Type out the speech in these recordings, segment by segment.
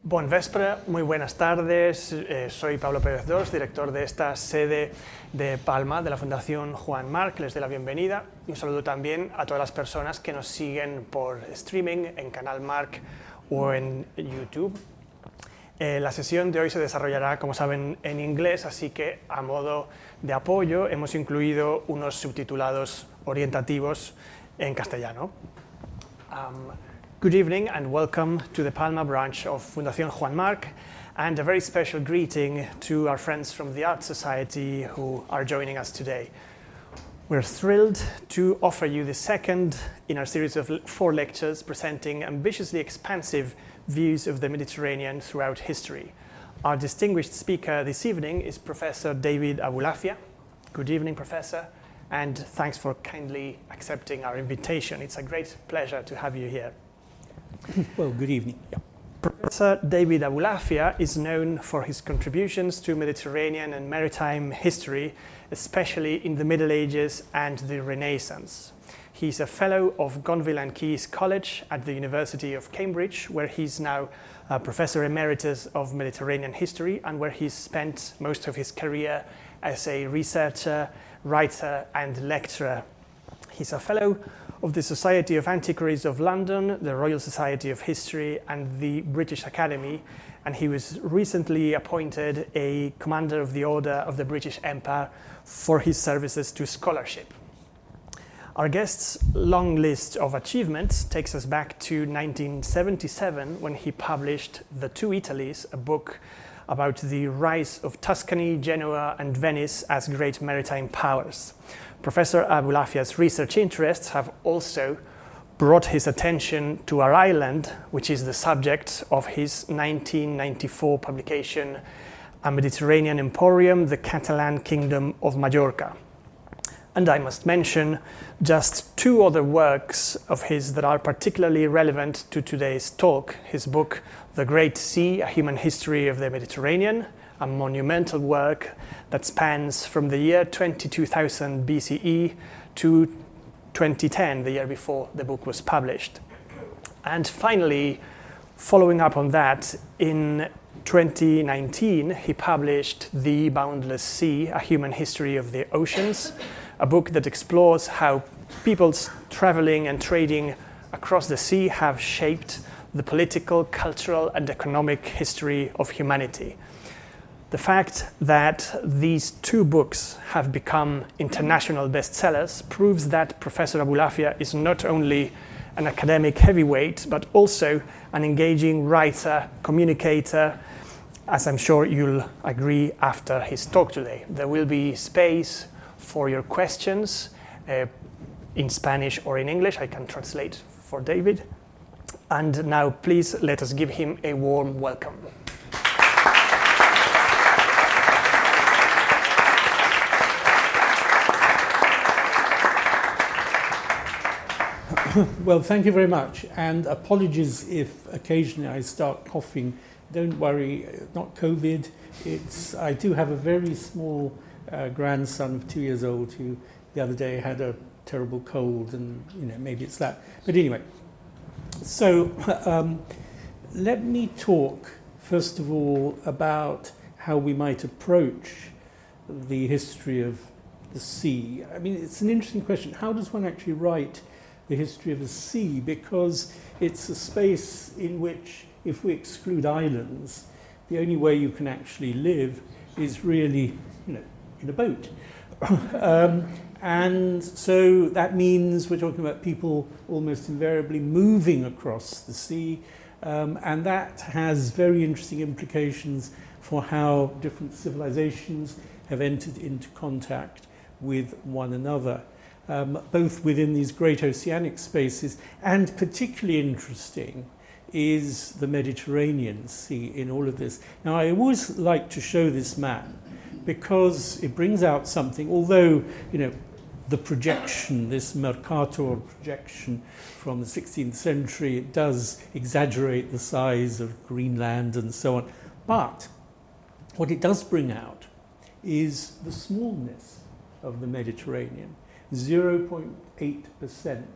Bon vespre, muy buenas tardes. Soy Pablo Pérez Dors, director de esta sede de Palma de la Fundación Juan Marc. Les doy la bienvenida y un saludo también a todas las personas que nos siguen por streaming en Canal Marc o en YouTube. La sesión de hoy se desarrollará, como saben, en inglés, así que a modo de apoyo hemos incluido unos subtitulados orientativos en castellano. Good evening and welcome to the Palma branch of Fundación Juan Marc, and a very special greeting to our friends from the Art Society who are joining us today. We're thrilled to offer you the second in our series of 4 lectures presenting ambitiously expansive views of the Mediterranean throughout history. Our distinguished speaker this evening is Professor David Abulafia. Good evening, Professor, and thanks for kindly accepting our invitation. It's a great pleasure to have you here. Well, good evening. Yeah. Professor David Abulafia is known for his contributions to Mediterranean and maritime history, especially in the Middle Ages and the Renaissance. He's a fellow of Gonville and Caius College at the University of Cambridge, where he's now a Professor Emeritus of Mediterranean History and where he's spent most of his career as a researcher, writer and lecturer. He's a fellow of the Society of Antiquaries of London, the Royal Society of History and the British Academy, and he was recently appointed a Commander of the Order of the British Empire for his services to scholarship. Our guest's long list of achievements takes us back to 1977 when he published The Two Italies, a book about the rise of Tuscany, Genoa and Venice as great maritime powers. Professor Abulafia's research interests have also brought his attention to our island, which is the subject of his 1994 publication, A Mediterranean Emporium, the Catalan Kingdom of Majorca. And I must mention just 2 other works of his that are particularly relevant to today's talk. His book, The Great Sea, A Human History of the Mediterranean, a monumental work that spans from the year 22,000 BCE to 2010, the year before the book was published. And finally, following up on that, in 2019, he published The Boundless Sea, A Human History of the Oceans, a book that explores how peoples traveling and trading across the sea have shaped the political, cultural, and economic history of humanity. The fact that these 2 books have become international bestsellers proves that Professor Abulafia is not only an academic heavyweight, but also an engaging writer, communicator, as I'm sure you'll agree after his talk today. There will be space for your questions in Spanish or in English. I can translate for David. And now please let us give him a warm welcome. Well, thank you very much, and apologies if occasionally I start coughing. Don't worry, not COVID. I do have a very small grandson of 2 years old who the other day had a terrible cold, and maybe it's that. But anyway, so let me talk first of all about how we might approach the history of the sea. I mean, it's an interesting question. How does one actually write the history of the sea? Because it's a space in which, if we exclude islands, the only way you can actually live is really, in a boat. And so that means we're talking about people almost invariably moving across the sea, and that has very interesting implications for how different civilizations have entered into contact with one another. Both within these great oceanic spaces, and particularly interesting is the Mediterranean Sea in all of this. Now, I always like to show this map because it brings out something, although, the projection, this Mercator projection from the 16th century, it does exaggerate the size of Greenland and so on. But what it does bring out is the smallness of the Mediterranean. 0.8%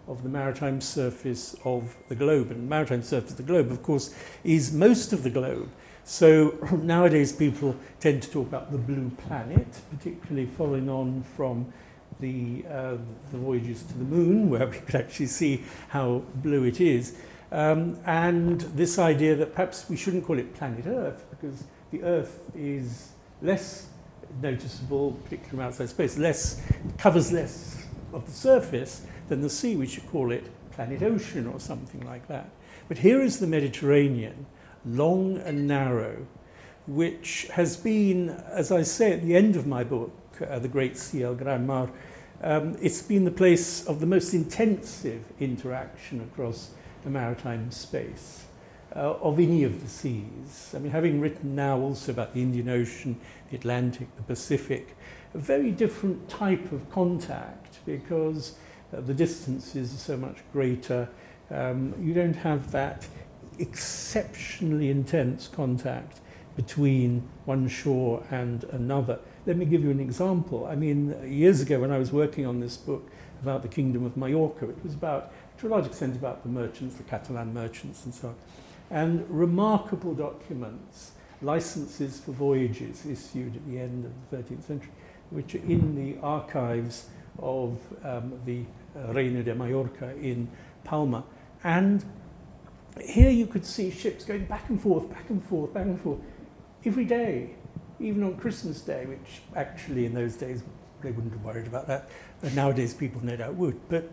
of the maritime surface of the globe. And the maritime surface of the globe, of course, is most of the globe. So nowadays people tend to talk about the blue planet, particularly following on from the voyages to the moon, where we could actually see how blue it is. And this idea that perhaps we shouldn't call it planet Earth, because the Earth is less noticeable, particularly from outside space, covers less of the surface than the sea. We should call it planet ocean or something like that. But here is the Mediterranean, long and narrow, which has been, as I say at the end of my book, The Great Sea, El Gran Mar, it's been the place of the most intensive interaction across the maritime space of any of the seas. I mean, having written now also about the Indian Ocean, the Atlantic, the Pacific, a very different type of contact because the distances are so much greater. You don't have that exceptionally intense contact between one shore and another. Let me give you an example. I mean, years ago when I was working on this book about the Kingdom of Majorca, it was about, to a large extent, about the merchants, the Catalan merchants and so on. And remarkable documents, licenses for voyages issued at the end of the 13th century, which are in the archives of the Reino de Mallorca in Palma. And here you could see ships going back and forth, back and forth, back and forth, every day, even on Christmas Day, which actually in those days they wouldn't have worried about that. But nowadays people no doubt would. But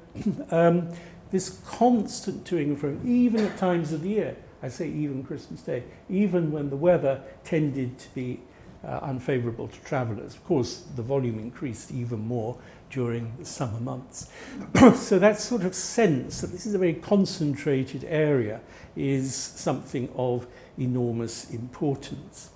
this constant to and fro, even at times of the year, I say even Christmas Day, even when the weather tended to be unfavourable to travellers. Of course, the volume increased even more during the summer months. So that sort of sense that this is a very concentrated area is something of enormous importance.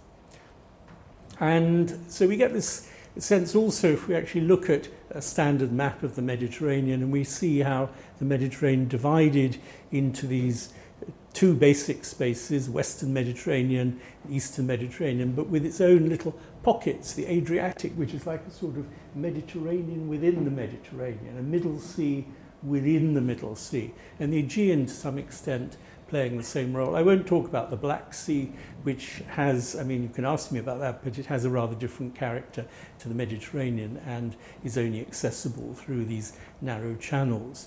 And so we get this sense also if we actually look at a standard map of the Mediterranean and we see how the Mediterranean divided into these two basic spaces, Western Mediterranean, Eastern Mediterranean, but with its own little pockets, the Adriatic, which is like a sort of Mediterranean within the Mediterranean, a Middle Sea within the Middle Sea, and the Aegean to some extent playing the same role. I won't talk about the Black Sea, which has, I mean, you can ask me about that, but it has a rather different character to the Mediterranean and is only accessible through these narrow channels.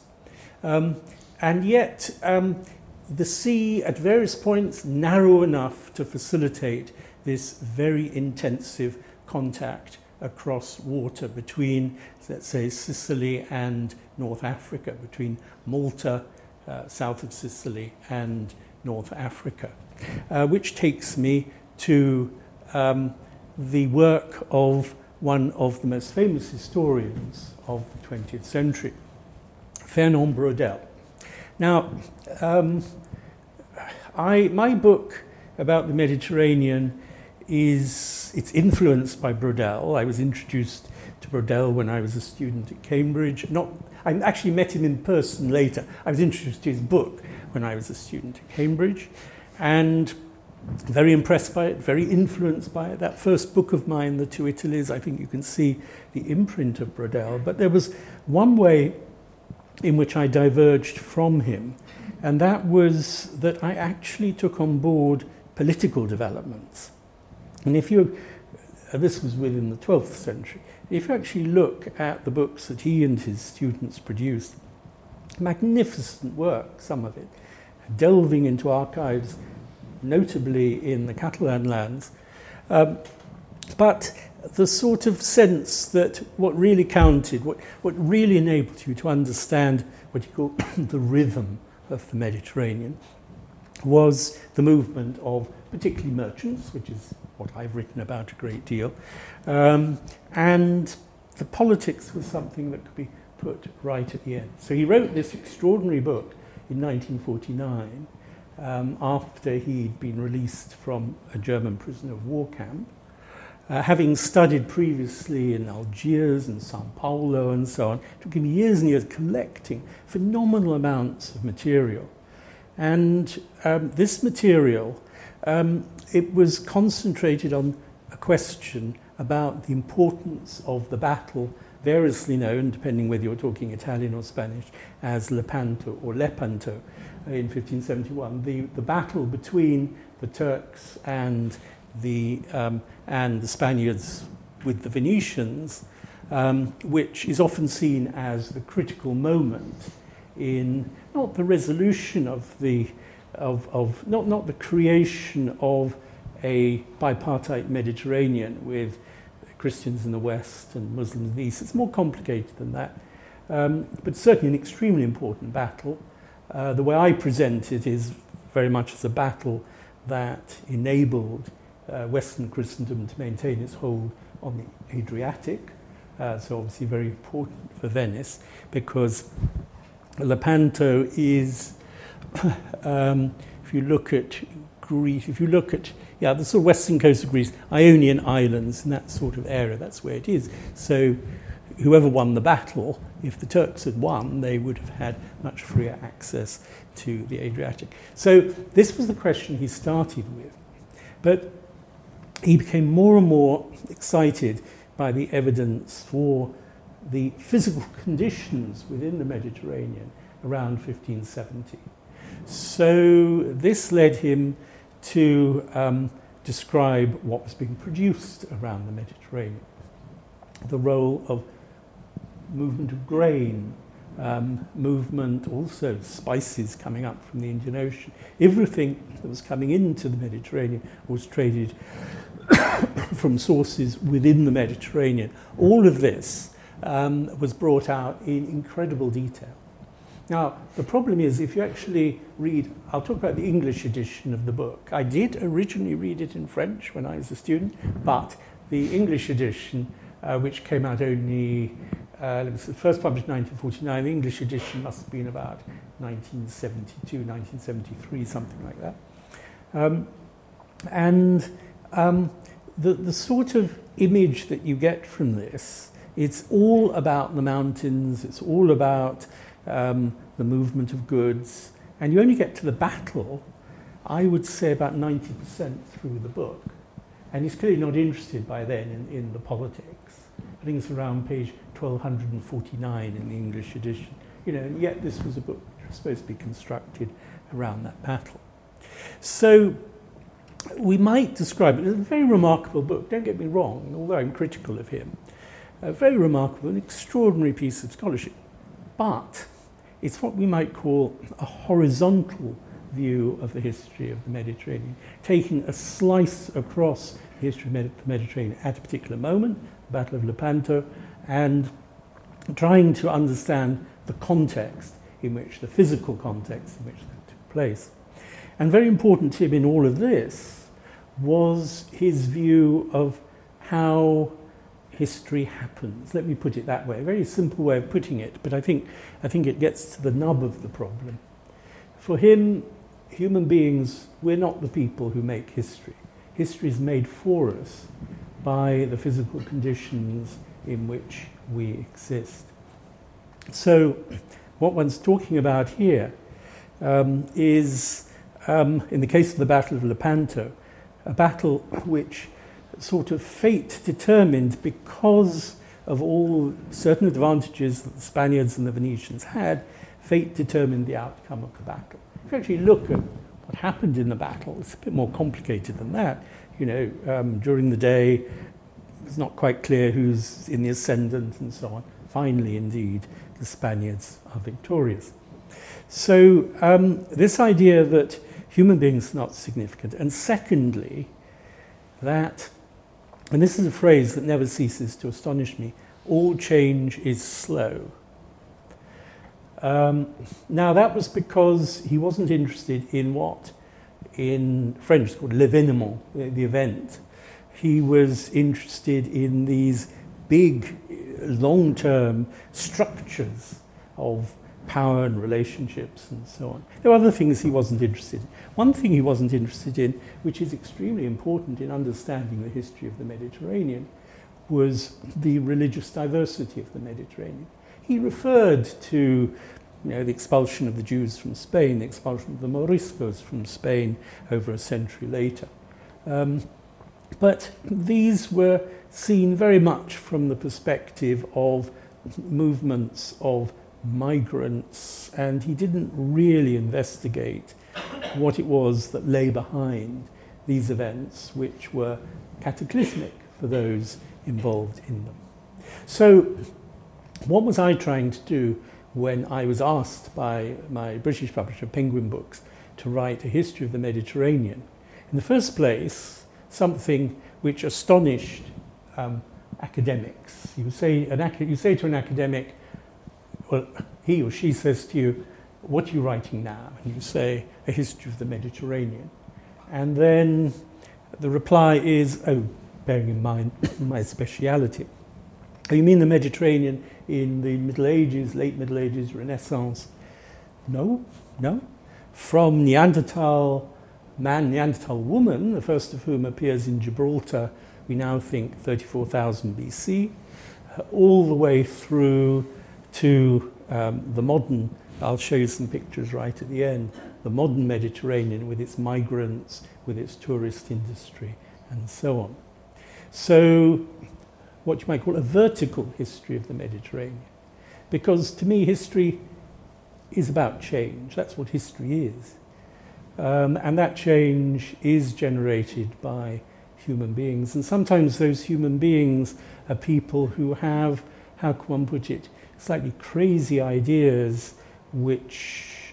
And yet, the sea at various points narrow enough to facilitate this very intensive contact across water between, let's say, Sicily and North Africa, between Malta, south of Sicily, and North Africa, which takes me to the work of one of the most famous historians of the 20th century, Fernand Braudel. Now, my book about the Mediterranean it's influenced by Braudel. I was introduced to Braudel when I was a student at Cambridge. I actually met him in person later. I was introduced to his book when I was a student at Cambridge, and very impressed by it, very influenced by it. That first book of mine, The Two Italies, I think you can see the imprint of Braudel. But there was one way in which I diverged from him, and that was that I actually took on board political developments. And this was within the 12th century, if you actually look at the books that he and his students produced, magnificent work, some of it, delving into archives, notably in the Catalan lands, but the sort of sense that what really counted, what really enabled you to understand what you call the rhythm of the Mediterranean, was the movement of particularly merchants, which is what I've written about a great deal, and the politics was something that could be put right at the end. So he wrote this extraordinary book in 1949 after he'd been released from a German prisoner of war camp, having studied previously in Algiers and Sao Paulo and so on. It took him years and years collecting phenomenal amounts of material. And this material, it was concentrated on a question about the importance of the battle variously known, depending whether you're talking Italian or Spanish, as Lepanto or Lepanto in 1571. The battle between the Turks and the Spaniards with the Venetians, which is often seen as the critical moment in not the resolution of not the creation of a bipartite Mediterranean with Christians in the West and Muslims in the East. It's more complicated than that, but certainly an extremely important battle. The way I present it is very much as a battle that enabled Western Christendom to maintain its hold on the Adriatic, so obviously very important for Venice, because Lepanto is, if you look at Greece, the sort of western coast of Greece, Ionian Islands and that sort of area, that's where it is. So whoever won the battle, if the Turks had won, they would have had much freer access to the Adriatic. So this was the question he started with. But he became more and more excited by the evidence for the physical conditions within the Mediterranean around 1570. So this led him to describe what was being produced around the Mediterranean, the role of movement of grain, movement also spices coming up from the Indian Ocean. Everything that was coming into the Mediterranean was traded from sources within the Mediterranean. All of this was brought out in incredible detail. Now, the problem is, if you actually read, I'll talk about the English edition of the book. I did originally read it in French when I was a student, but the English edition, which came out only, first published in 1949, the English edition must have been about 1972, 1973, something like that. The sort of image that you get from this, it's all about the mountains, it's all about the movement of goods, and you only get to the battle, I would say, about 90% through the book. And he's clearly not interested by then in the politics. I think it's around page 1249 in the English edition. And yet this was a book which was supposed to be constructed around that battle. So we might describe it as a very remarkable book, don't get me wrong, although I'm critical of him. A very remarkable, an extraordinary piece of scholarship. But it's what we might call a horizontal view of the history of the Mediterranean, taking a slice across the history of the Mediterranean at a particular moment, the Battle of Lepanto, and trying to understand the context in which, the physical context in which that took place. And very important to him in all of this was his view of how history happens. Let me put it that way. A very simple way of putting it, but I think it gets to the nub of the problem. For him, human beings, we're not the people who make history. History is made for us by the physical conditions in which we exist. So what one's talking about here is, in the case of the Battle of Lepanto, a battle which sort of fate determined because of all certain advantages that the Spaniards and the Venetians had. Fate determined the outcome of the battle. If you actually look at what happened in the battle, it's a bit more complicated than that. During the day, it's not quite clear who's in the ascendant and so on. Finally, indeed, the Spaniards are victorious. So this idea that human beings are not significant, and secondly, that, and this is a phrase that never ceases to astonish me, all change is slow. Now that was because he wasn't interested in what in French is called l'événement, the event. He was interested in these big, long-term structures of power and relationships and so on. There were other things he wasn't interested in. One thing he wasn't interested in, which is extremely important in understanding the history of the Mediterranean, was the religious diversity of the Mediterranean. He referred to the expulsion of the Jews from Spain, the expulsion of the Moriscos from Spain over a century later. But these were seen very much from the perspective of movements of migrants, and he didn't really investigate what it was that lay behind these events, which were cataclysmic for those involved in them. So what was I trying to do when I was asked by my British publisher, Penguin Books, to write a history of the Mediterranean? In the first place, something which astonished academics. You say to an academic, well, he or she says to you, what are you writing now? And you say, a history of the Mediterranean. And then the reply is, oh, bearing in mind my speciality. Oh, you mean the Mediterranean in the Middle Ages, late Middle Ages, Renaissance? No. From Neanderthal man, Neanderthal woman, the first of whom appears in Gibraltar, we now think 34,000 BC, all the way through to the modern, I'll show you some pictures right at the end, the modern Mediterranean with its migrants, with its tourist industry, and so on. So what you might call a vertical history of the Mediterranean. Because to me, history is about change. That's what history is. And that change is generated by human beings. And sometimes those human beings are people who have, how can one put it, slightly crazy ideas which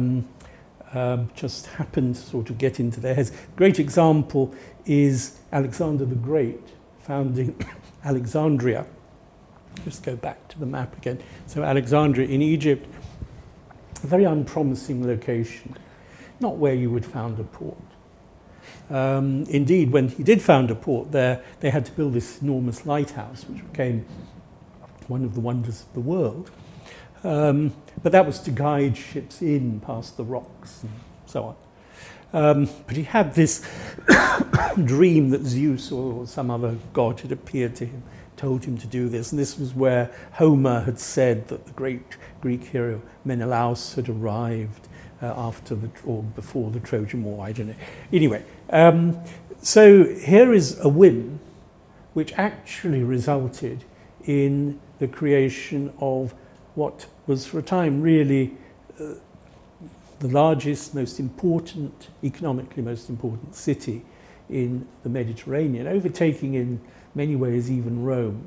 just happen to sort of get into their heads. A great example is Alexander the Great founding Alexandria. Just go back to the map again. So Alexandria in Egypt, a very unpromising location, not where you would found a port. Indeed, when he did found a port there, they had to build this enormous lighthouse, which became one of the wonders of the world. But that was to guide ships in past the rocks and so on. But he had this dream that Zeus or some other god had appeared to him, told him to do this. And this was where Homer had said that the great Greek hero Menelaus had arrived after or before the Trojan War, I don't know. Anyway, so here is a whim which actually resulted in the creation of what was for a time really the largest, most important, economically most important city in the Mediterranean, overtaking in many ways even Rome.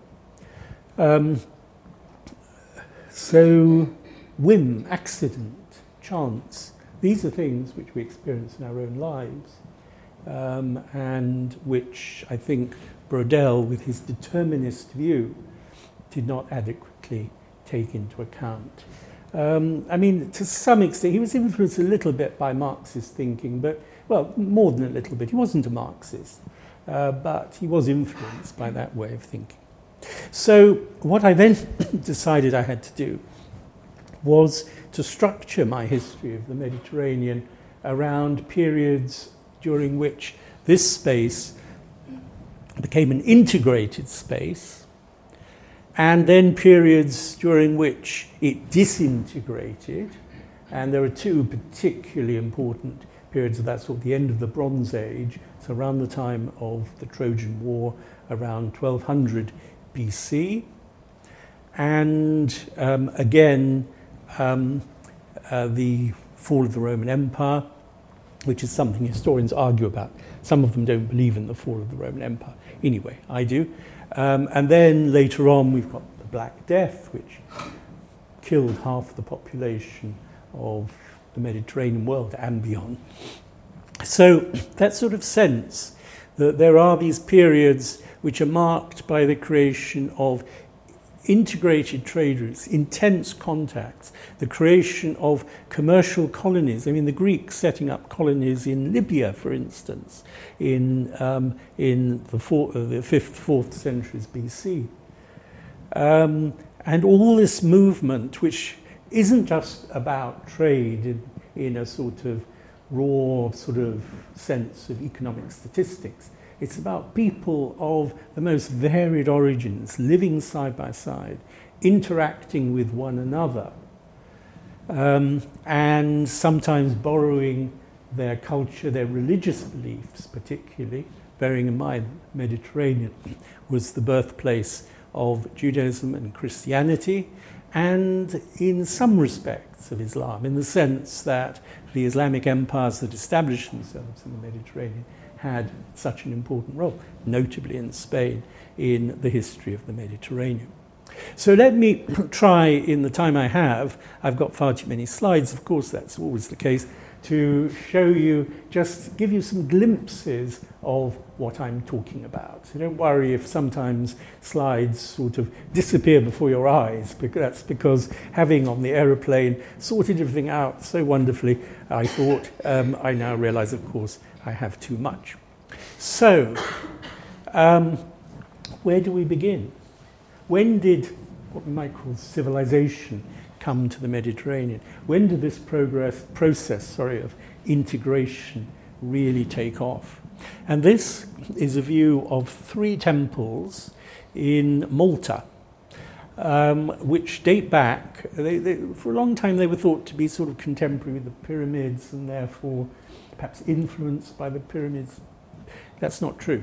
So whim, accident, chance, these are things which we experience in our own lives, and which I think Braudel, with his determinist view, did not adequately take into account. I mean, to some extent, he was influenced a little bit by Marxist thinking, but, well, more than a little bit. He wasn't a Marxist, but he was influenced by that way of thinking. So what I then decided I had to do was to structure my history of the Mediterranean around periods during which this space became an integrated space, and then periods during which it disintegrated. And there are two particularly important periods of that sort, the end of the Bronze Age, so around the time of the Trojan War, around 1200 BC, and again, the fall of the Roman Empire, which is something historians argue about. Some of them don't believe in the fall of the Roman Empire. Anyway, I do. And then later on, we've got the Black Death, which killed half the population of the Mediterranean world and beyond. So that sort of sense that there are these periods which are marked by the creation of integrated trade routes, intense contacts, the creation of commercial colonies. I mean, the Greeks setting up colonies in Libya, for instance, in the 5th, 4th centuries BC. And all this movement, which isn't just about trade in a sort of raw sort of sense of economic statistics. It's about people of the most varied origins, living side by side, interacting with one another, and sometimes borrowing their culture, their religious beliefs particularly, bearing in mind the Mediterranean was the birthplace of Judaism and Christianity, and in some respects of Islam, in the sense that the Islamic empires that established themselves in the Mediterranean had such an important role, notably in Spain, in the history of the Mediterranean. So let me try, in the time I have, I've got far too many slides, of course that's always the case, to show you, just give you some glimpses of what I'm talking about. So don't worry if sometimes slides sort of disappear before your eyes, because that's because having on the aeroplane sorted everything out so wonderfully, I thought, I now realize, of course, I have too much. So, where do we begin? When did what we might call civilization come to the Mediterranean? When did this process of integration really take off? And this is a view of 3 temples in Malta, which date back, for a long time they were thought to be sort of contemporary with the pyramids and therefore perhaps influenced by the pyramids. That's not true.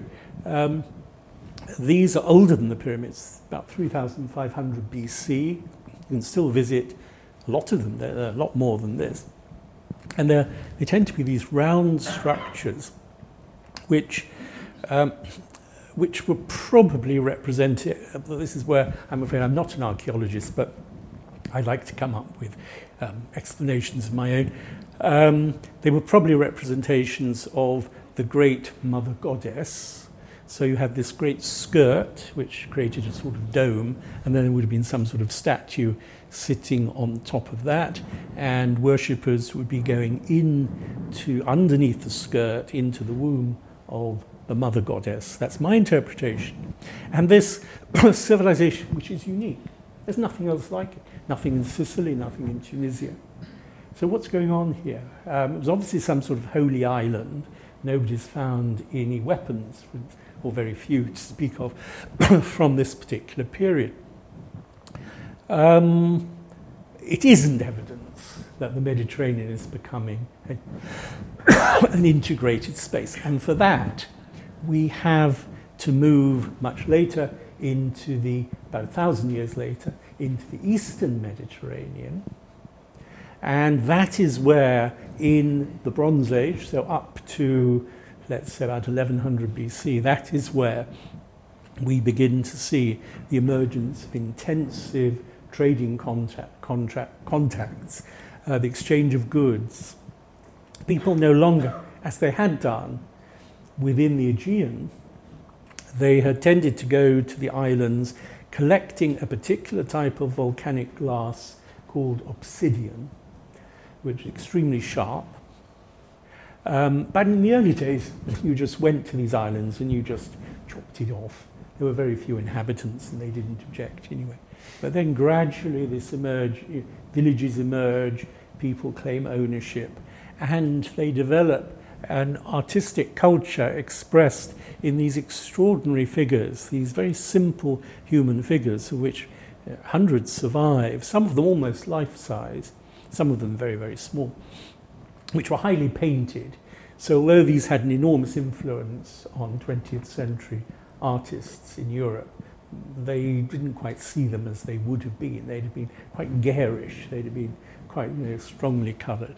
These are older than the pyramids, about 3,500 BC. You can still visit a lot of them. They're a lot more than this. And they tend to be these round structures which were probably represented. This is where I'm afraid I'm not an archaeologist, but I like to come up with explanations of my own. They were probably representations of the great mother goddess. So you have this great skirt, which created a sort of dome, and then there would have been some sort of statue sitting on top of that, and worshippers would be going underneath the skirt, into the womb of the mother goddess. That's my interpretation. And this civilization, which is unique, there's nothing else like it. Nothing in Sicily, nothing in Tunisia. So what's going on here? It was obviously some sort of holy island. Nobody's found any weapons, or very few to speak of, from this particular period. It isn't evidence that the Mediterranean is becoming an integrated space. And for that, we have to move much later about 1,000 years later, into the Eastern Mediterranean. And that is where, in the Bronze Age, so up to, let's say, about 1100 BC, that is where we begin to see the emergence of intensive trading contacts, the exchange of goods. People no longer, as they had done within the Aegean, they had tended to go to the islands collecting a particular type of volcanic glass called obsidian, which is extremely sharp. But in the early days, you just went to these islands and you just chopped it off. There were very few inhabitants and they didn't object anyway. But then gradually villages emerge, people claim ownership, and they develop an artistic culture expressed in these extraordinary figures, these very simple human figures, of which hundreds survive, some of them almost life-size, some of them very, very small, which were highly painted. So although these had an enormous influence on 20th century artists in Europe, they didn't quite see them as they would have been. They'd have been quite garish. They'd have been quite strongly coloured.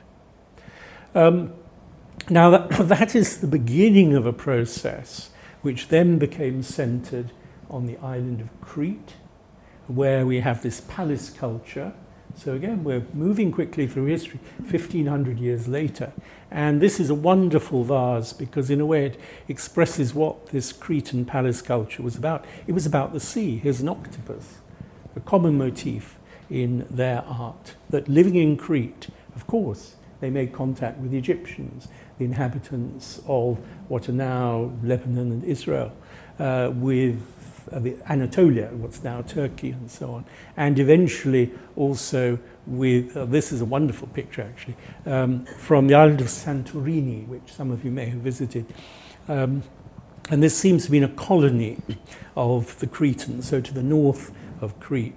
Now that is the beginning of a process which then became centred on the island of Crete, where we have this palace culture. So again, we're moving quickly through history, 1,500 years later. And this is a wonderful vase because in a way it expresses what this Cretan palace culture was about. It was about the sea. Here's an octopus, a common motif in their art. That living in Crete, of course, they made contact with the Egyptians, the inhabitants of what are now Lebanon and Israel, with Anatolia, what's now Turkey, and so on. And eventually also with, this is a wonderful picture actually, from the island of Santorini, which some of you may have visited. And this seems to be a colony of the Cretans. So to the north of Crete,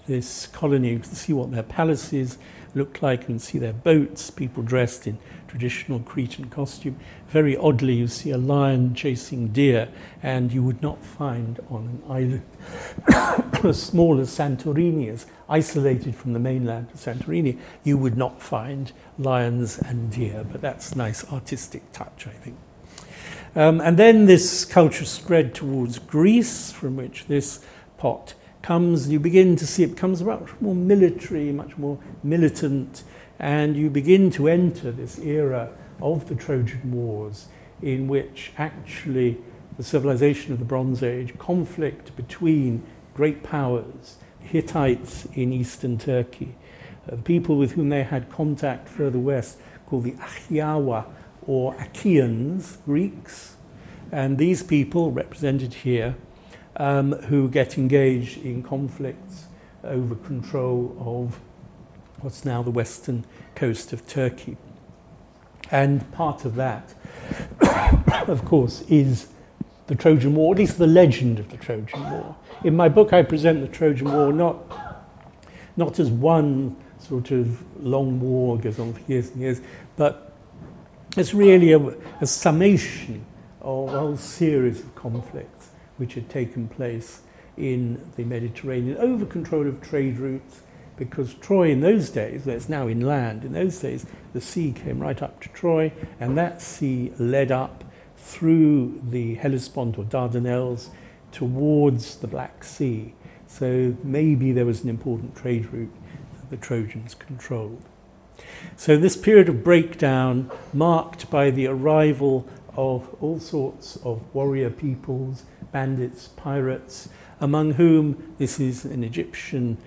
this colony. You can see what their palaces look like. You can see their boats, people dressed in traditional Cretan costume. Very oddly, you see a lion chasing deer, and you would not find on an island as small as Santorini, as isolated from the mainland of Santorini, you would not find lions and deer. But that's a nice artistic touch, I think. And then this culture spread towards Greece, from which this pot comes. You begin to see it becomes much more military, much more militant, and you begin to enter this era of the Trojan Wars, in which actually the civilization of the Bronze Age, conflict between great powers, Hittites in eastern Turkey, the people with whom they had contact further west, called the Achaeawa or Achaeans, Greeks, and these people represented here, who get engaged in conflicts over control of what's now the western coast of Turkey. And part of that, of course, is the Trojan War, at least the legend of the Trojan War. In my book, I present the Trojan War not as one sort of long war goes on for years and years, but it's really a summation of a whole series of conflicts which had taken place in the Mediterranean over control of trade routes, because Troy in those days, where it's now inland, in those days the sea came right up to Troy, and that sea led up through the Hellespont or Dardanelles towards the Black Sea. So maybe there was an important trade route that the Trojans controlled. So this period of breakdown, marked by the arrival of all sorts of warrior peoples, bandits, pirates, among whom this is an Egyptian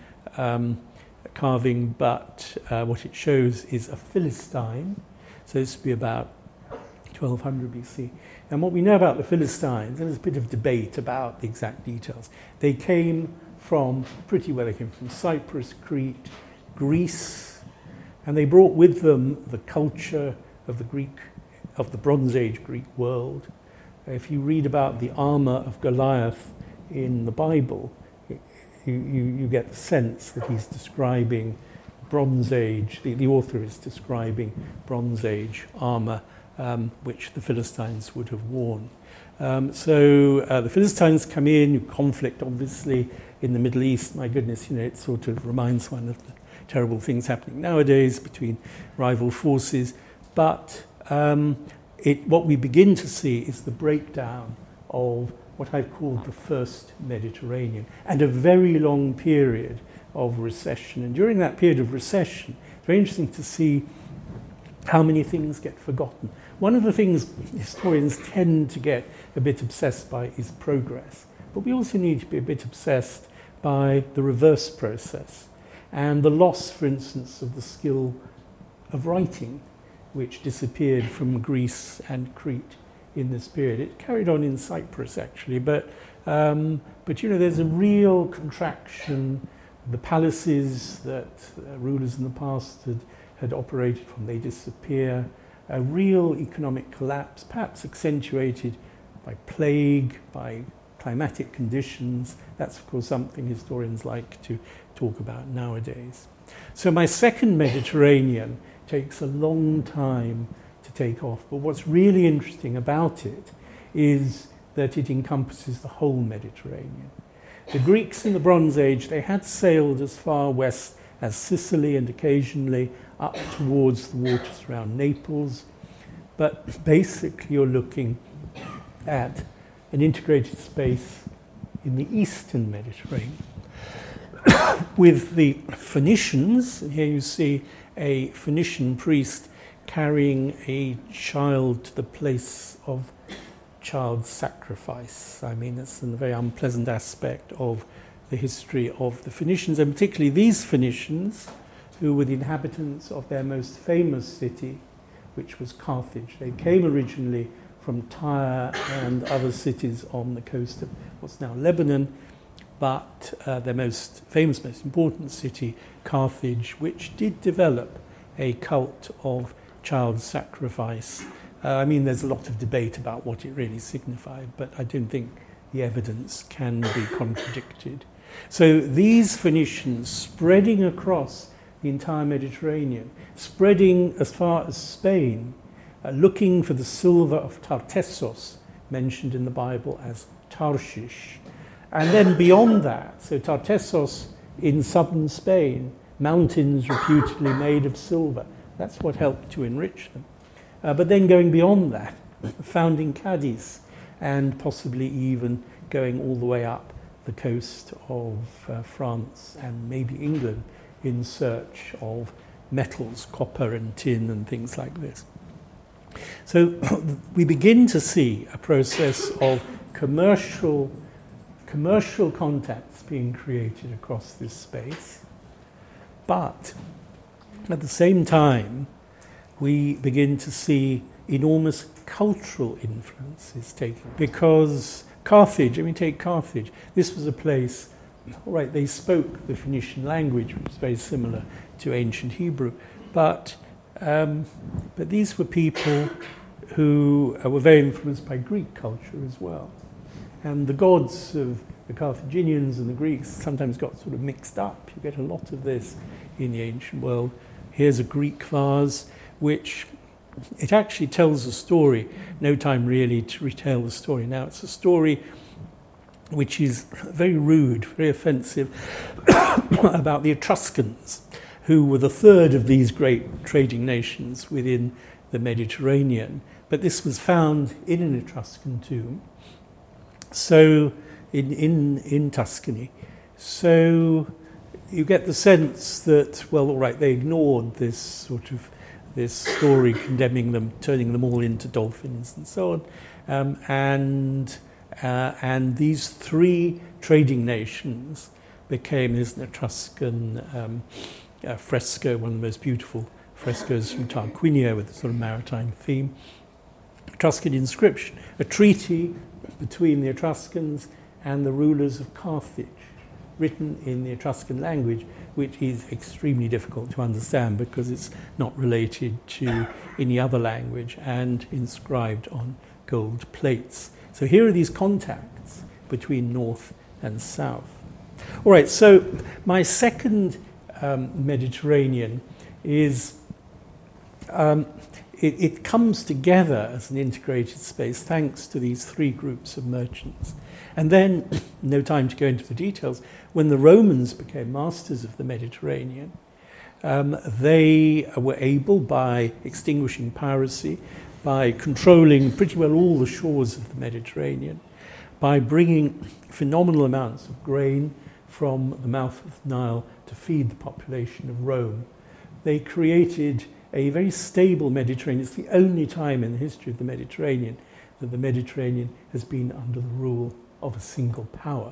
carving, but what it shows is a Philistine. So this would be about 1200 BC. And what we know about the Philistines, and there's a bit of debate about the exact details, they came from they came from Cyprus, Crete, Greece, and they brought with them the culture of the Bronze Age Greek world. If you read about the armor of Goliath in the Bible, you get the sense that he's describing Bronze Age, the author is describing Bronze Age armor, which the Philistines would have worn. So the Philistines come in, conflict obviously in the Middle East. My goodness, it sort of reminds one of the terrible things happening nowadays between rival forces. But what we begin to see is the breakdown of what I've called the first Mediterranean, and a very long period of recession. And during that period of recession, it's very interesting to see how many things get forgotten. One of the things historians tend to get a bit obsessed by is progress, but we also need to be a bit obsessed by the reverse process and the loss, for instance, of the skill of writing, which disappeared from Greece and Crete in this period. It carried on in Cyprus, actually, but there's a real contraction. The palaces that rulers in the past had operated from, they disappear. A real economic collapse, perhaps accentuated by plague, by climatic conditions. That's, of course, something historians like to talk about nowadays. So my second Mediterranean takes a long time to take off, but what's really interesting about it is that it encompasses the whole Mediterranean. The Greeks in the Bronze Age, they had sailed as far west as Sicily and occasionally up towards the waters around Naples, but basically you're looking at an integrated space in the eastern Mediterranean with the Phoenicians. And here you see a Phoenician priest carrying a child to the place of child sacrifice. I mean, it's a very unpleasant aspect of the history of the Phoenicians, and particularly these Phoenicians, who were the inhabitants of their most famous city, which was Carthage. They came originally from Tyre and other cities on the coast of what's now Lebanon, but their most famous, most important city, Carthage, which did develop a cult of child sacrifice. There's a lot of debate about what it really signified, but I don't think the evidence can be contradicted. So these Phoenicians spreading across the entire Mediterranean, spreading as far as Spain, looking for the silver of Tartessos, mentioned in the Bible as Tarshish. And then beyond that, so Tartessos in southern Spain, mountains reputedly made of silver. That's what helped to enrich them. But then going beyond that, founding Cadiz, and possibly even going all the way up the coast of France and maybe England in search of metals, copper and tin and things like this. So we begin to see a process of commercial contacts being created across this space. But at the same time, we begin to see enormous cultural influences taken. Because Carthage, take Carthage, this was a place, all right, they spoke the Phoenician language, which was very similar to ancient Hebrew, but these were people who were very influenced by Greek culture as well. And the gods of the Carthaginians and the Greeks sometimes got sort of mixed up. You get a lot of this in the ancient world. Here's a Greek vase, which it actually tells a story. No time really to retell the story now. It's a story which is very rude, very offensive, about the Etruscans, who were the third of these great trading nations within the Mediterranean. But this was found in an Etruscan tomb, so in Tuscany. So you get the sense that, well, all right, they ignored this story condemning them, turning them all into dolphins and so on. And these three trading nations became, there's an Etruscan fresco, one of the most beautiful frescoes from Tarquinia with a sort of maritime theme. Etruscan inscription, a treaty between the Etruscans and the rulers of Carthage, written in the Etruscan language, which is extremely difficult to understand because it's not related to any other language and inscribed on gold plates. So here are these contacts between north and south. All right, so my second Mediterranean is, it comes together as an integrated space thanks to these three groups of merchants. And then, no time to go into the details, when the Romans became masters of the Mediterranean, they were able, by extinguishing piracy, by controlling pretty well all the shores of the Mediterranean, by bringing phenomenal amounts of grain from the mouth of the Nile to feed the population of Rome. They created a very stable Mediterranean. It's the only time in the history of the Mediterranean that the Mediterranean has been under the rule of a single power.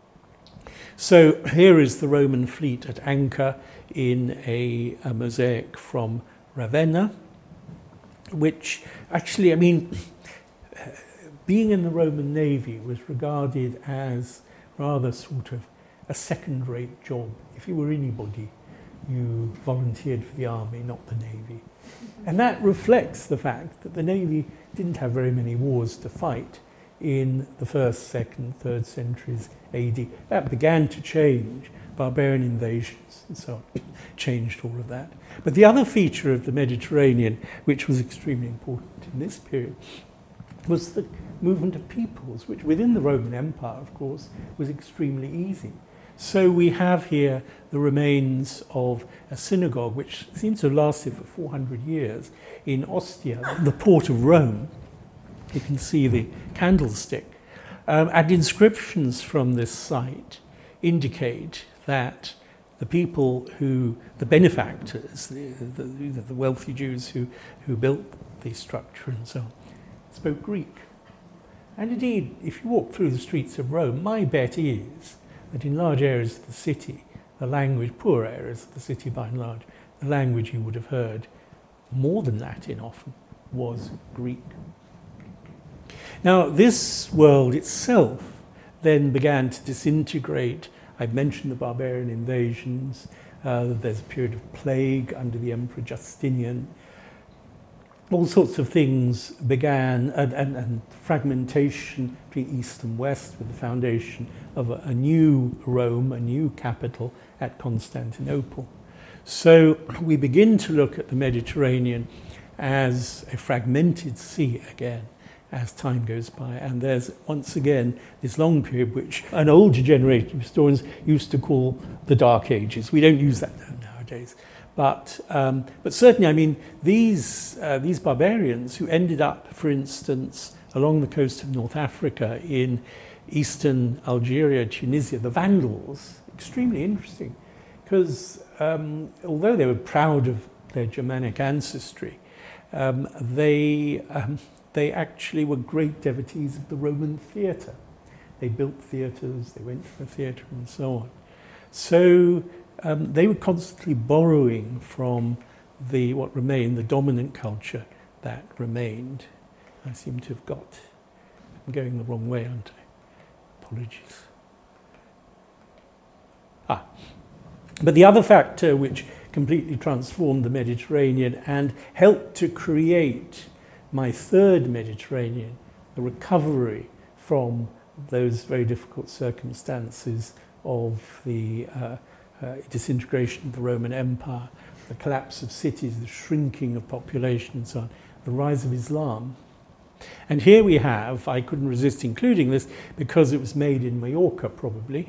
So here is the Roman fleet at anchor in a mosaic from Ravenna, which actually, being in the Roman Navy was regarded as rather sort of a second-rate job. If you were anybody, you volunteered for the army, not the Navy. And that reflects the fact that the Navy didn't have very many wars to fight in the 1st, 2nd, 3rd centuries AD. That began to change. Barbarian invasions and so on changed all of that. But the other feature of the Mediterranean, which was extremely important in this period, was the movement of peoples, which within the Roman Empire, of course, was extremely easy. So we have here the remains of a synagogue, which seems to have lasted for 400 years in Ostia, the port of Rome. You can see the candlestick. And inscriptions from this site indicate that the people the benefactors, the wealthy Jews who built the structure and so on, spoke Greek. And indeed, if you walk through the streets of Rome, my bet is that in large areas of the city, the language, poor areas of the city by and large, the language you would have heard, more than Latin often, was Greek. Now, this world itself then began to disintegrate. I've mentioned the barbarian invasions. There's a period of plague under the Emperor Justinian. all sorts of things began, and fragmentation between East and West with the foundation of a new Rome, a new capital at Constantinople. So we begin to look at the Mediterranean as a fragmented sea again as time goes by. And there's once again this long period which an older generation of historians used to call the Dark Ages. We don't use that term nowadays. But certainly, I mean, these barbarians who ended up, for instance, along the coast of North Africa in eastern Algeria, Tunisia, the Vandals, extremely interesting, because although they were proud of their Germanic ancestry, they actually were great devotees of the Roman theatre. They built theatres, they went to the theatre, and so on. So they were constantly borrowing from what remained, the dominant culture that remained. I seem to have I'm going the wrong way, aren't I? Apologies. But the other factor which completely transformed the Mediterranean and helped to create my third Mediterranean, the recovery from those very difficult circumstances of the disintegration of the Roman Empire, the collapse of cities, the shrinking of population and so on, the rise of Islam. And here we have, I couldn't resist including this because it was made in Majorca probably,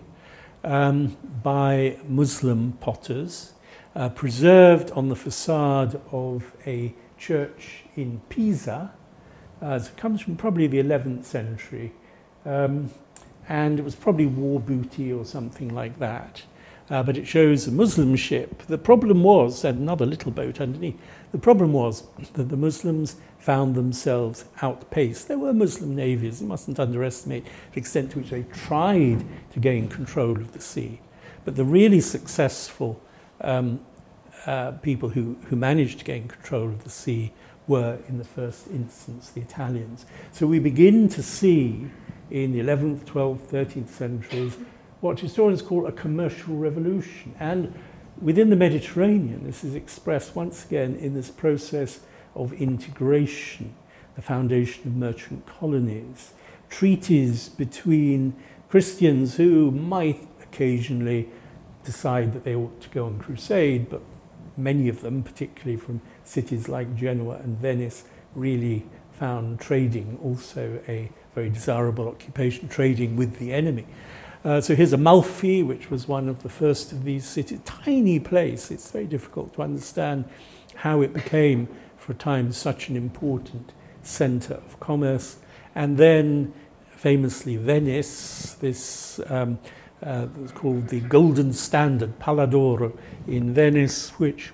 by Muslim potters, preserved on the facade of a church in Pisa. It comes from probably the 11th century, and it was probably war booty or something like that. But it shows a Muslim ship. The problem was, and another little boat underneath, the problem was that the Muslims found themselves outpaced. There were Muslim navies, you mustn't underestimate the extent to which they tried to gain control of the sea. But the really successful people who managed to gain control of the sea were, in the first instance, the Italians. So we begin to see in the 11th, 12th, 13th centuries what historians call a commercial revolution. And within the Mediterranean, this is expressed once again in this process of integration, the foundation of merchant colonies, treaties between Christians who might occasionally decide that they ought to go on crusade, but many of them, particularly from cities like Genoa and Venice, really found trading also a very desirable occupation, trading with the enemy. So here's Amalfi, which was one of the first of these cities. Tiny place. It's very difficult to understand how it became, for a time, such an important centre of commerce. And then, famously, Venice, this was called the Golden Standard, Palla d'Oro, in Venice, which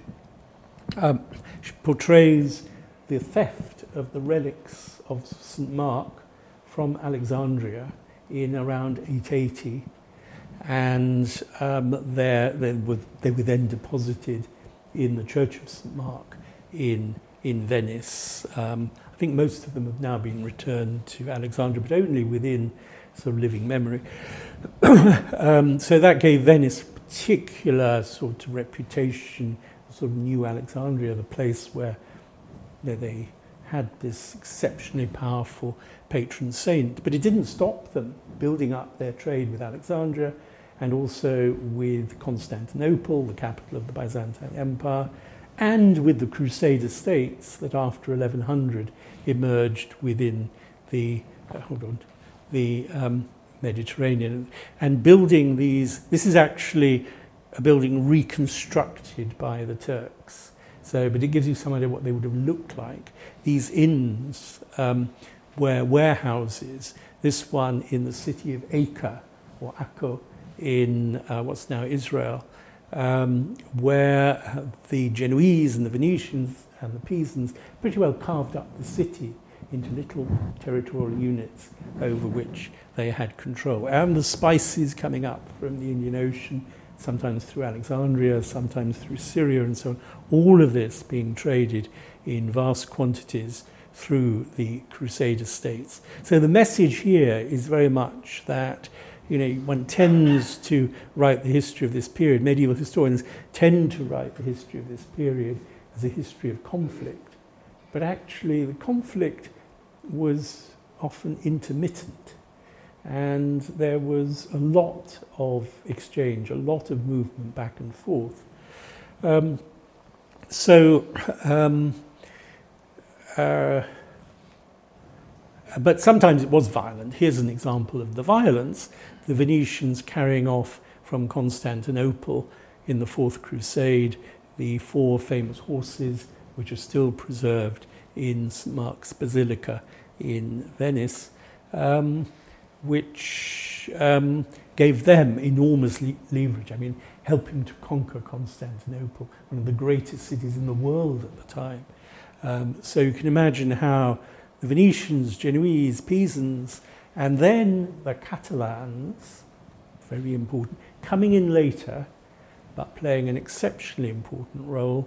portrays the theft of the relics of St. Mark from Alexandria in around 880, and they were then deposited in the Church of St. Mark in Venice. I think most of them have now been returned to Alexandria, but only within sort of living memory. So that gave Venice a particular sort of reputation, sort of New Alexandria, the place where they had this exceptionally powerful patron saint. But it didn't stop them building up their trade with Alexandria and also with Constantinople, the capital of the Byzantine Empire, and with the Crusader states that after 1100 emerged within the Mediterranean, and building these. This is actually a building reconstructed by the Turks. So, but it gives you some idea what they would have looked like. These inns were warehouses. This one in the city of Acre, or Akko, in what's now Israel, where the Genoese and the Venetians and the Pisans pretty well carved up the city into little territorial units over which they had control. And the spices coming up from the Indian Ocean, sometimes through Alexandria, sometimes through Syria and so on, all of this being traded in vast quantities through the Crusader states. So the message here is very much that, one tends to write the history of this period. Medieval historians tend to write the history of this period as a history of conflict but actually the conflict was often intermittent, and there was a lot of exchange, a lot of movement back and forth. But sometimes it was violent. Here's an example of the violence: the Venetians carrying off from Constantinople in the Fourth Crusade the 4 famous horses, which are still preserved in St. Mark's Basilica in Venice, which gave them enormous leverage. I mean, helping to conquer Constantinople, one of the greatest cities in the world at the time. So you can imagine how the Venetians, Genoese, Pisans, and then the Catalans, very important, coming in later, but playing an exceptionally important role,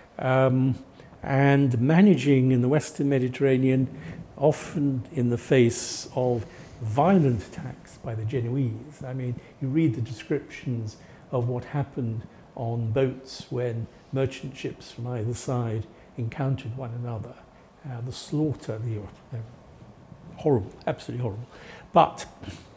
and managing in the Western Mediterranean, often in the face of violent attacks by the Genoese. I mean, you read the descriptions of what happened on boats when merchant ships from either side encountered one another. The slaughter, horrible, absolutely horrible. But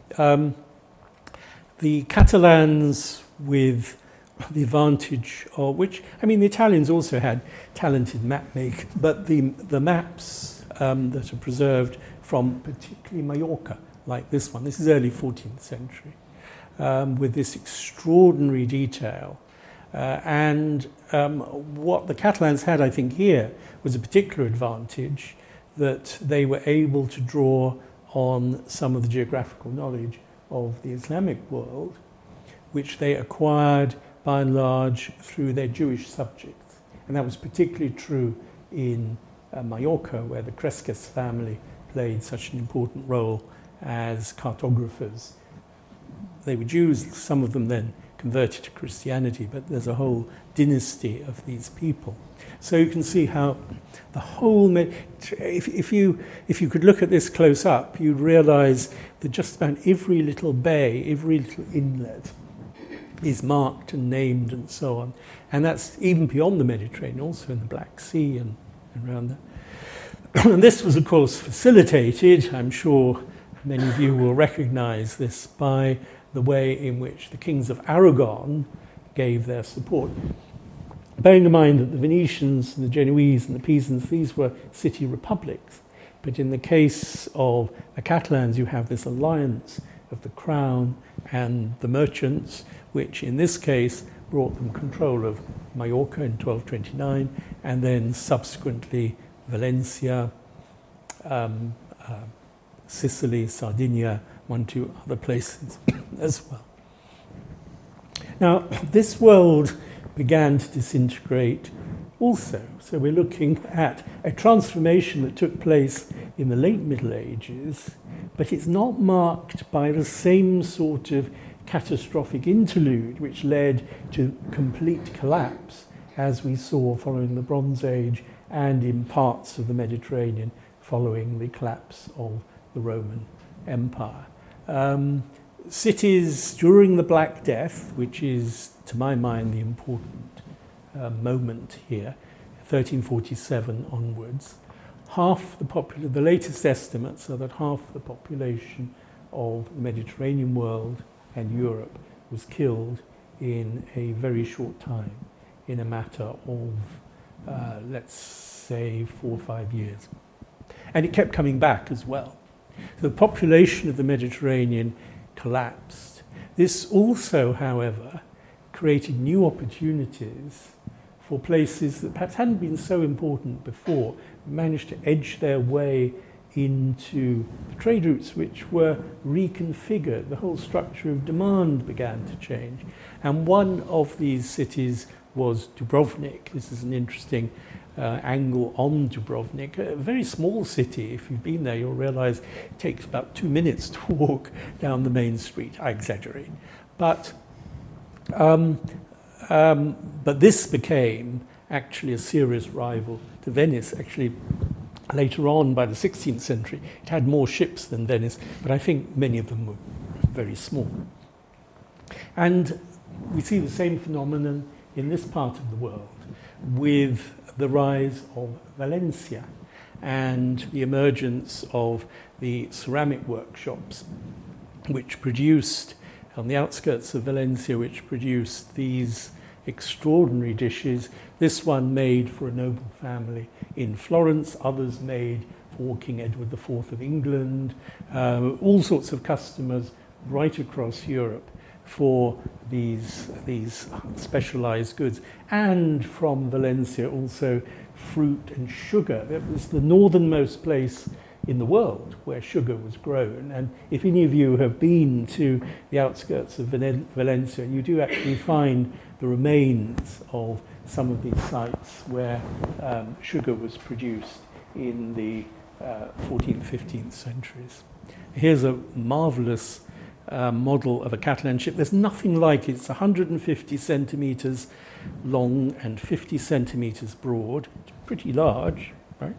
the Catalans, with the advantage of which, I mean, the Italians also had talented map makers, but the maps that are preserved from particularly Mallorca, like this one, this is early 14th century, with this extraordinary detail. And what the Catalans had, I think, here was a particular advantage, that they were able to draw on some of the geographical knowledge of the Islamic world, which they acquired by and large through their Jewish subjects. And that was particularly true in Mallorca, where the Cresques family played such an important role as cartographers. They were Jews, some of them then converted to Christianity, but there's a whole dynasty of these people. So you can see how the whole, if you could look at this close up, you'd realize that just about every little bay, every little inlet is marked and named and so on. And that's even beyond the Mediterranean, also in the Black Sea and around there. And this was, of course, facilitated, I'm sure many of you will recognize this, by the way in which the kings of Aragon gave their support. Bearing in mind that the Venetians and the Genoese and the Pisans, these were city republics. But in the case of the Catalans, you have this alliance of the crown and the merchants, which in this case brought them control of Mallorca in 1229, and then subsequently Valencia, Sicily, Sardinia, 1-2 other places as well. Now, this world began to disintegrate also. So we're looking at a transformation that took place in the late Middle Ages, but it's not marked by the same sort of catastrophic interlude which led to complete collapse as we saw following the Bronze Age and in parts of the Mediterranean following the collapse of the Roman Empire. Cities during the Black Death, which is, to my mind, the important moment here, 1347 onwards, the latest estimates are that half the population of the Mediterranean world and Europe was killed in a very short time, in a matter of, let's say, 4 or 5 years. And it kept coming back as well. So the population of the Mediterranean collapsed. This also, however, created new opportunities for places that perhaps hadn't been so important before, managed to edge their way into the trade routes which were reconfigured. The whole structure of demand began to change. And one of these cities was Dubrovnik. This is an interesting angle on Dubrovnik, a very small city. If you've been there, you'll realize it takes about 2 minutes to walk down the main street. I exaggerate. But this became actually a serious rival to Venice. Actually, later on, by the 16th century, it had more ships than Venice, but I think many of them were very small. And we see the same phenomenon in this part of the world, with the rise of Valencia and the emergence of the ceramic workshops, which produced, on the outskirts of Valencia, which produced these extraordinary dishes. This one made for a noble family in Florence, others made for King Edward IV of England, all sorts of customers right across Europe for these specialized goods. And from Valencia also fruit and sugar. It was the northernmost place in the world where sugar was grown. And if any of you have been to the outskirts of Valencia, you do actually find the remains of some of these sites where sugar was produced in the 14th, 15th centuries. Here's a marvelous model of a Catalan ship. There's nothing like it. It's 150 centimeters long and 50 centimeters broad. It's pretty large, right?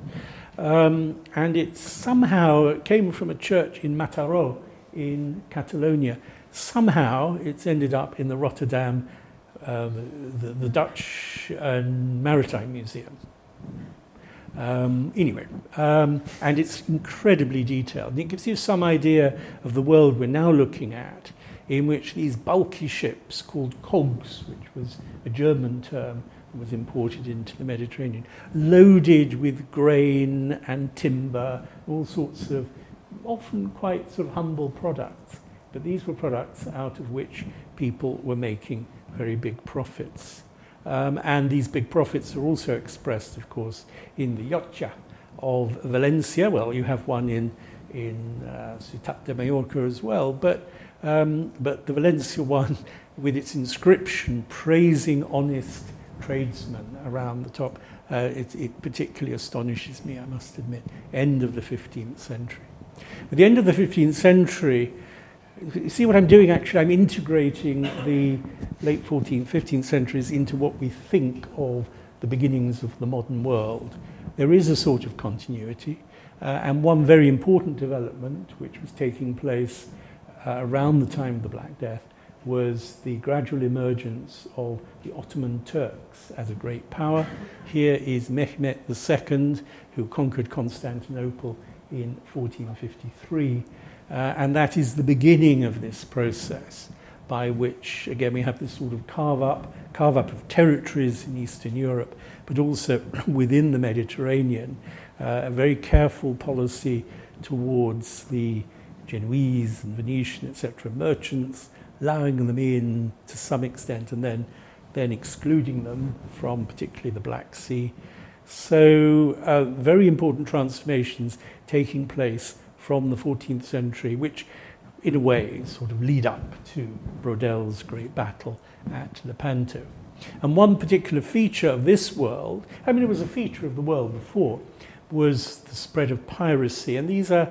And it came from a church in Mataró in Catalonia. Somehow it's ended up in the Rotterdam, the Dutch Maritime Museum. And it's incredibly detailed. And it gives you some idea of the world we're now looking at, in which these bulky ships called cogs, which was a German term, was imported into the Mediterranean, loaded with grain and timber, all sorts of often quite sort of humble products. But these were products out of which people were making very big profits. And these big profits are also expressed, of course, in the Llotja of Valencia. Well, you have one in Ciutat de Mallorca as well, but the Valencia one, with its inscription praising honest tradesmen around the top, it particularly astonishes me, I must admit. End of the 15th century. At the end of the 15th century, you see what I'm doing actually? I'm integrating the late 14th, 15th centuries into what we think of the beginnings of the modern world. There is a sort of continuity, and one very important development which was taking place around the time of the Black Death was the gradual emergence of the Ottoman Turks as a great power. Here is Mehmet II, who conquered Constantinople in 1453. And that is the beginning of this process by which, again, we have this sort of carve up of territories in Eastern Europe, but also within the Mediterranean, a very careful policy towards the Genoese and Venetian, etc., merchants, allowing them in to some extent and then excluding them from particularly the Black Sea. So very important transformations taking place from the 14th century, which in a way sort of lead up to Brodel's great battle at Lepanto. And one particular feature of this world, I mean it was a feature of the world before, was the spread of piracy. And these are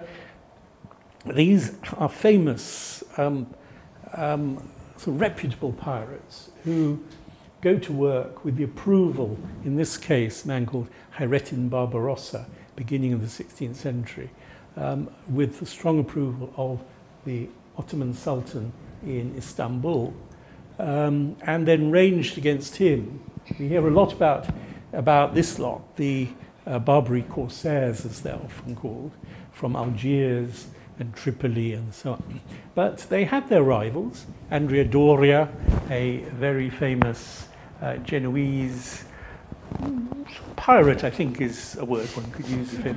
famous sort of reputable pirates who go to work with the approval, in this case, a man called Hayrettin Barbarossa, beginning of the 16th century, with the strong approval of the Ottoman Sultan in Istanbul, and then ranged against him. We hear a lot about this lot, the Barbary corsairs, as they're often called, from Algiers and Tripoli and so on. But they had their rivals. Andrea Doria, a very famous Genoese pirate, I think is a word one could use of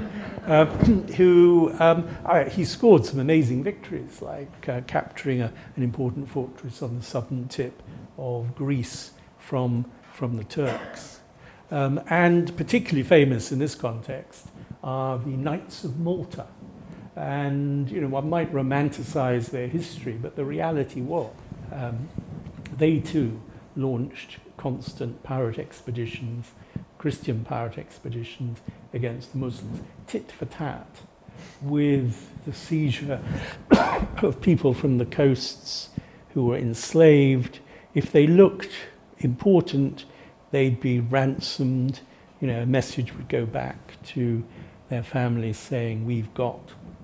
him, he scored some amazing victories, like capturing an important fortress on the southern tip of Greece from the Turks. And particularly famous in this context are the Knights of Malta. And, one might romanticize their history, but the reality was they too launched constant pirate expeditions, Christian pirate expeditions against the Muslims, tit for tat, with the seizure of people from the coasts who were enslaved. If they looked important, they'd be ransomed. A message would go back to their families saying, we've got,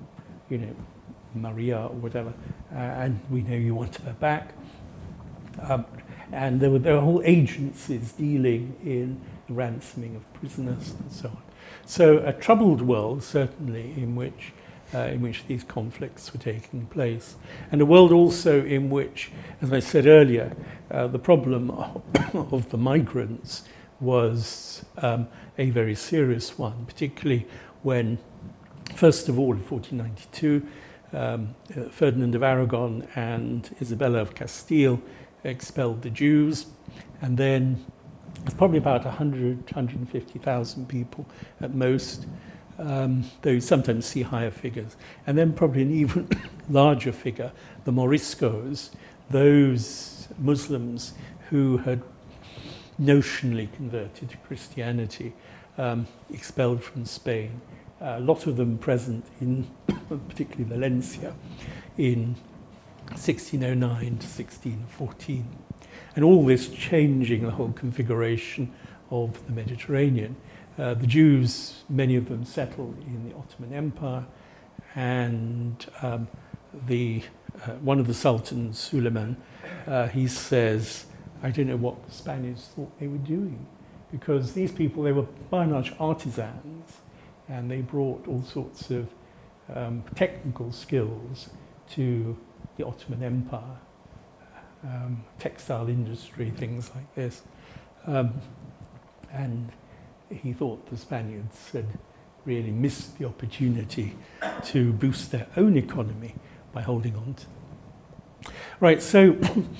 Maria or whatever, and we know you want her back. And there were whole agencies dealing in the ransoming of prisoners, and so on. So a troubled world, certainly, in which these conflicts were taking place. And a world also in which, as I said earlier, the problem of the migrants was a very serious one, particularly when, first of all, in 1492, Ferdinand of Aragon and Isabella of Castile expelled the Jews, and then it's probably about 150,000 people at most, though you sometimes see higher figures. And then probably an even larger figure, the Moriscos, those Muslims who had notionally converted to Christianity, expelled from Spain. A lot of them present in particularly Valencia in 1609 to 1614. And all this changing the whole configuration of the Mediterranean. The Jews, many of them settled in the Ottoman Empire, and one of the sultans, Suleiman, he says, I don't know what the Spaniards thought they were doing, because these people, they were by and large artisans, and they brought all sorts of technical skills to the Ottoman Empire, textile industry, things like this. And he thought the Spaniards had really missed the opportunity to boost their own economy by holding on to them. Right, so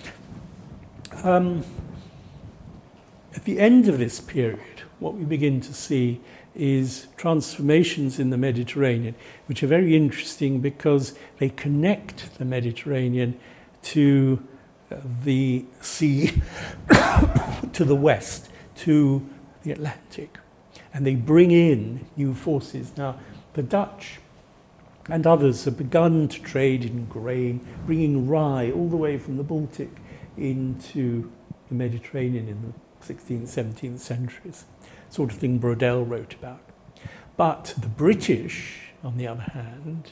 at the end of this period, what we begin to see is transformations in the Mediterranean, which are very interesting because they connect the Mediterranean to the sea to the west, to the Atlantic. And they bring in new forces. Now, the Dutch and others have begun to trade in grain, bringing rye all the way from the Baltic into the Mediterranean in the 16th, 17th centuries, sort of thing Brodel wrote about. But the British, on the other hand,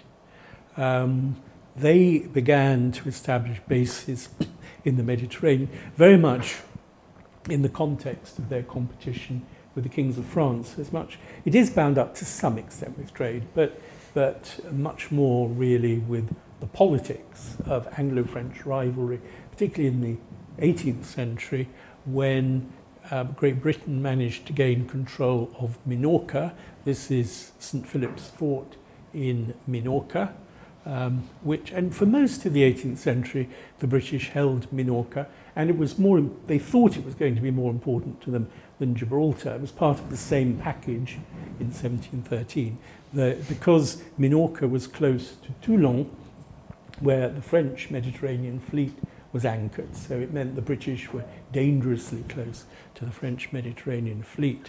they began to establish bases in the Mediterranean, very much in the context of their competition with the kings of France. As much, it is bound up to some extent with trade, but much more really with the politics of Anglo-French rivalry, particularly in the 18th century, when Great Britain managed to gain control of Minorca. This is St. Philip's Fort in Minorca, and for most of the 18th century, the British held Minorca, and it was more, they thought it was going to be more important to them than Gibraltar. It was part of the same package in 1713, because Minorca was close to Toulon, where the French Mediterranean fleet was anchored, so it meant the British were dangerously close to the French Mediterranean fleet.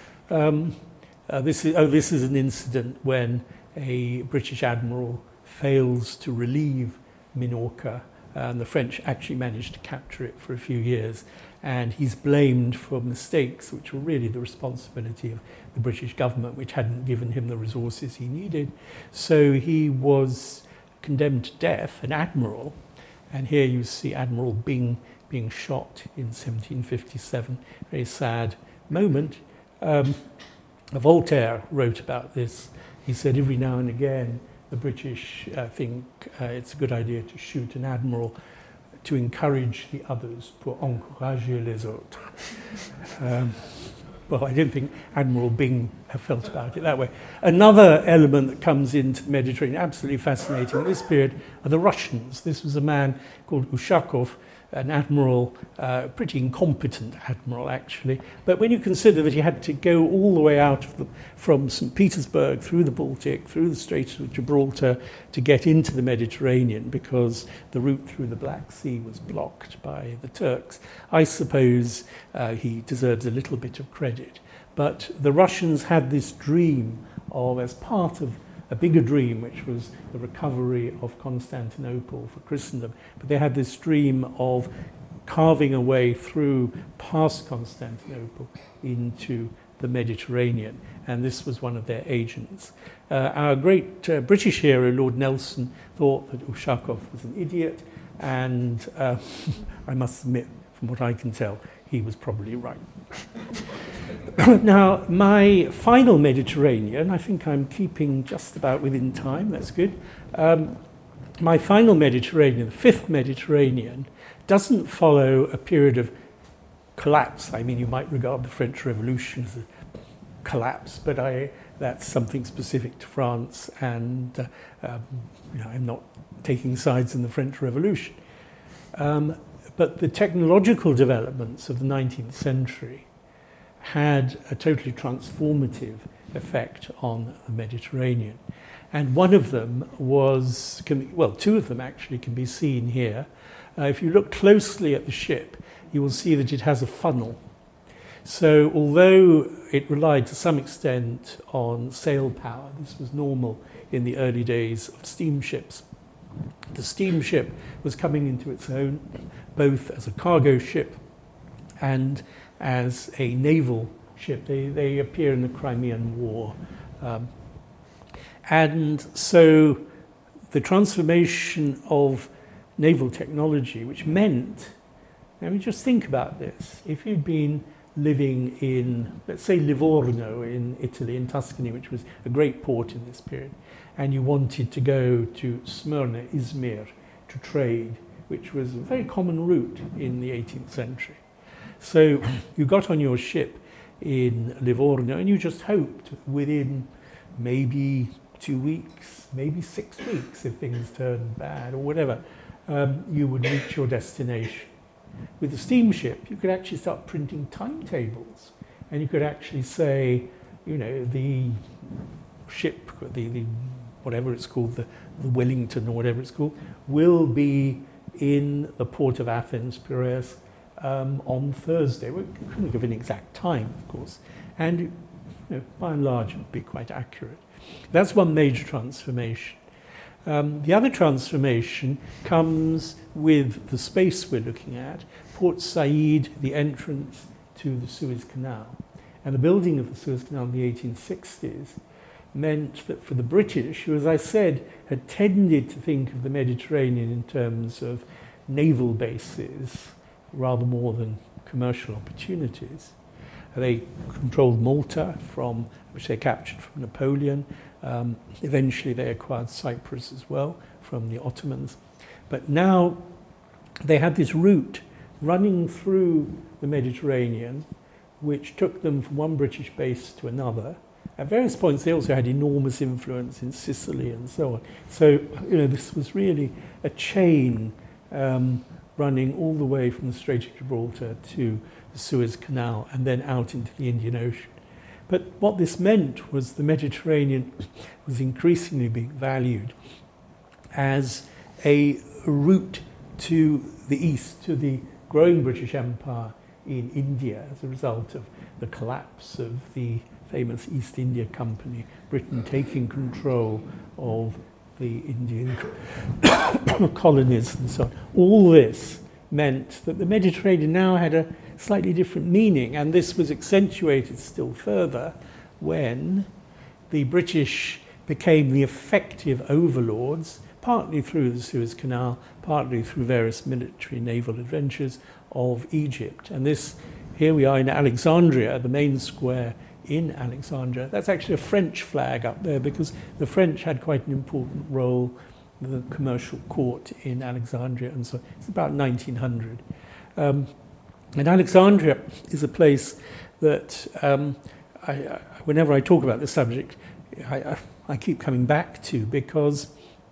This is an incident when a British admiral fails to relieve Minorca, and the French actually managed to capture it for a few years, and he's blamed for mistakes which were really the responsibility of the British government, which hadn't given him the resources he needed. So he was condemned to death, an admiral, and here you see Admiral Byng being shot in 1757. Very sad moment. Voltaire wrote about this. He said every now and again the British think it's a good idea to shoot an admiral to encourage the others, pour encourager les autres. Well, I don't think Admiral Byng have felt about it that way. Another element that comes into the Mediterranean, absolutely fascinating in this period, are the Russians. This was a man called Ushakov, an admiral, pretty incompetent admiral actually, but when you consider that he had to go all the way out from St. Petersburg through the Baltic, through the Straits of Gibraltar to get into the Mediterranean because the route through the Black Sea was blocked by the Turks, I suppose he deserves a little bit of credit. But the Russians had this dream of, as part of a bigger dream, which was the recovery of Constantinople for Christendom. But they had this dream of carving a way through past Constantinople into the Mediterranean, and this was one of their agents. Our great British hero, Lord Nelson, thought that Ushakov was an idiot, and I must admit, from what I can tell, he was probably right. now my final Mediterranean, I think I'm keeping just about within time, that's good. My final Mediterranean, the fifth Mediterranean, doesn't follow a period of collapse. I mean, you might regard the French Revolution as a collapse, but that's something specific to France, and I'm not taking sides in the French Revolution. But the technological developments of the 19th century had a totally transformative effect on the Mediterranean. And one of them was, two of them actually can be seen here. If you look closely at the ship, you will see that it has a funnel. So although it relied to some extent on sail power, this was normal in the early days of steamships. The steamship was coming into its own, both as a cargo ship and as a naval ship. They appear in the Crimean War. And so the transformation of naval technology, which meant, I mean, just think about this. If you'd been living in, let's say, Livorno in Italy, in Tuscany, which was a great port in this period, and you wanted to go to Smyrna, Izmir, to trade, which was a very common route in the 18th century. So you got on your ship in Livorno and you just hoped within maybe 2 weeks, maybe 6 weeks, if things turned bad or whatever, you would reach your destination. With the steamship, you could actually start printing timetables, and you could actually say, the ship, the whatever it's called, the Wellington or whatever it's called, will be in the port of Athens, Piraeus, on Thursday. We couldn't give an exact time, of course, and by and large, it would be quite accurate. That's one major transformation. The other transformation comes with the space we're looking at, Port Said, the entrance to the Suez Canal. And the building of the Suez Canal in the 1860s meant that for the British, who, as I said, had tended to think of the Mediterranean in terms of naval bases rather more than commercial opportunities. They controlled Malta, which they captured from Napoleon. Eventually they acquired Cyprus as well from the Ottomans. But now they had this route running through the Mediterranean, which took them from one British base to another. At various points they also had enormous influence in Sicily and so on. So this was really a chain running all the way from the Strait of Gibraltar to the Suez Canal and then out into the Indian Ocean. But what this meant was the Mediterranean was increasingly being valued as a route to the east, to the growing British Empire in India as a result of the collapse of the famous East India Company, Britain taking control of the Indian colonies and so on. All this meant that the Mediterranean now had a slightly different meaning, and this was accentuated still further when the British became the effective overlords, partly through the Suez Canal, partly through various military and naval adventures of Egypt. And this, here we are in Alexandria, the main square in Alexandria. That's actually a French flag up there because the French had quite an important role in the commercial court in Alexandria, and so it's about 1900. And Alexandria is a place that, whenever I talk about this subject, I keep coming back to because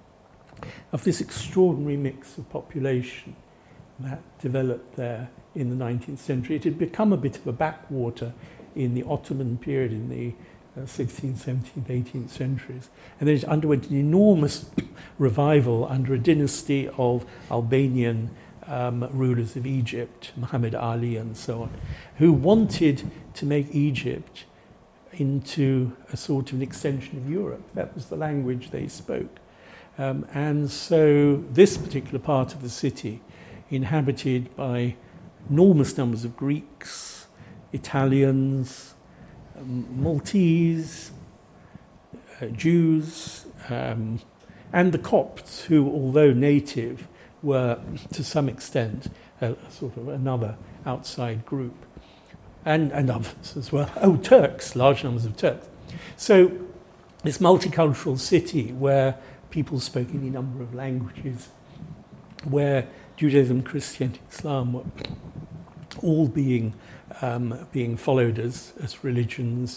of this extraordinary mix of population that developed there in the 19th century. It had become a bit of a backwater in the Ottoman period, in the 16th, 17th, 18th centuries. And then it underwent an enormous revival under a dynasty of Albanian rulers of Egypt, Muhammad Ali and so on, who wanted to make Egypt into a sort of an extension of Europe. That was the language they spoke. And so this particular part of the city, inhabited by enormous numbers of Greeks, Italians, Maltese, Jews, and the Copts, who, although native, were to some extent sort of another outside group. and others as well. Oh, Turks, large numbers of Turks. So this multicultural city where people spoke any number of languages, where Judaism, Christianity, Islam were all being followed as religions,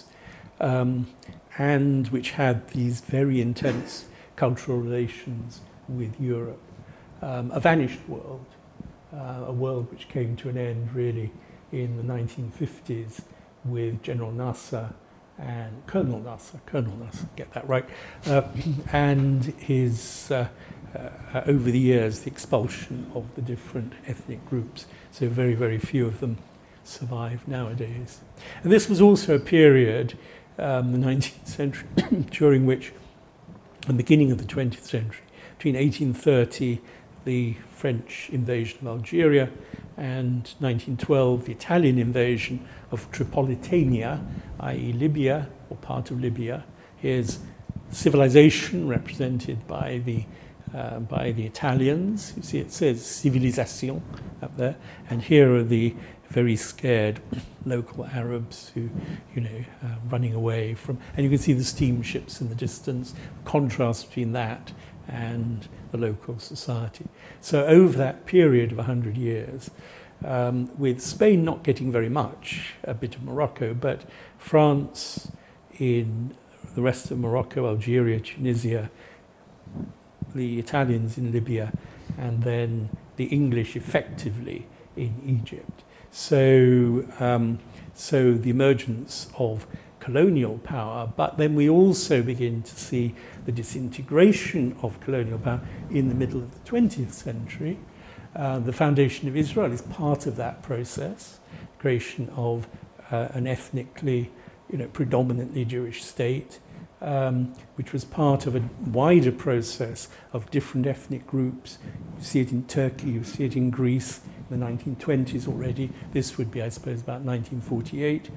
and which had these very intense cultural relations with Europe. A vanished world, a world which came to an end really in the 1950s with General Nasser and Colonel Nasser, get that right, and his, over the years, the expulsion of the different ethnic groups. So very, very few of them survive nowadays. And this was also a period, the 19th century, during which, the beginning of the 20th century, between 1830, the French invasion of Algeria, and 1912, the Italian invasion of Tripolitania, i.e. Libya, or part of Libya. Here's civilization represented by the Italians. You see it says civilisation up there. And here are the very scared local Arabs who, running away from... And you can see the steamships in the distance, contrast between that and the local society. So over that period of 100 years, with Spain not getting very much, a bit of Morocco, but France in the rest of Morocco, Algeria, Tunisia, the Italians in Libya, and then the English effectively in Egypt. So the emergence of colonial power, but then we also begin to see the disintegration of colonial power in the middle of the 20th century. The foundation of Israel is part of that process, creation of an ethnically, predominantly Jewish state, which was part of a wider process of different ethnic groups. You see it in Turkey, you see it in Greece in the 1920s already. This would be, I suppose, about 1948.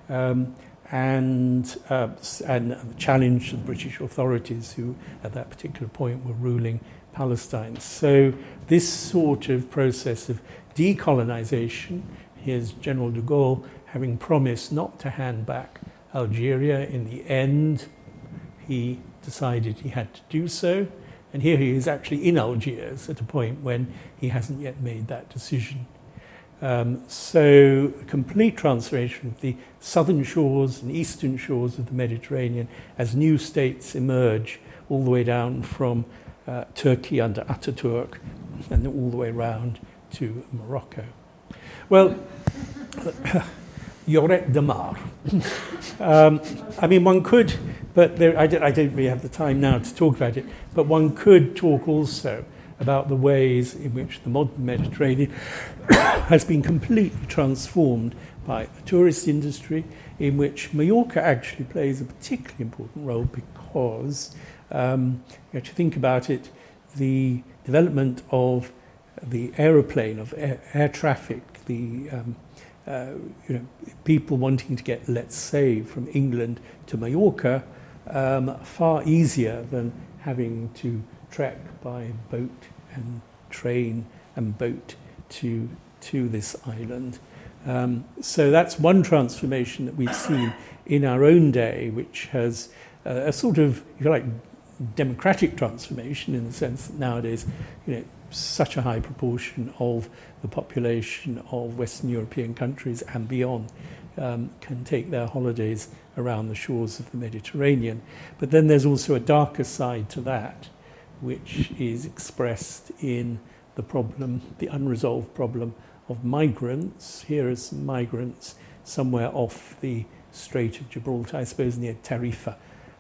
And the challenge to the British authorities who at that particular point were ruling Palestine. So this sort of process of decolonization, here's General de Gaulle having promised not to hand back Algeria. In the end, he decided he had to do so. And here he is actually in Algiers at a point when he hasn't yet made that decision. So a complete transformation of the southern shores and eastern shores of the Mediterranean as new states emerge all the way down from Turkey under Ataturk and all the way around to Morocco. Well, Lloret de Mar. One could, but I don't really have the time now to talk about it, but one could talk also about the ways in which the modern Mediterranean has been completely transformed by the tourist industry, in which Mallorca actually plays a particularly important role because, you have to think about it, the development of the aeroplane, of air traffic, the people wanting to get, let's say, from England to Mallorca, far easier than having to trek by boat and train and boat to this island. So that's one transformation that we've seen in our own day, which has a sort of, if you like, democratic transformation in the sense that nowadays, such a high proportion of the population of Western European countries and beyond can take their holidays around the shores of the Mediterranean. But then there's also a darker side to that, which is expressed in the problem, the unresolved problem of migrants. Here are some migrants somewhere off the Strait of Gibraltar, I suppose near Tarifa,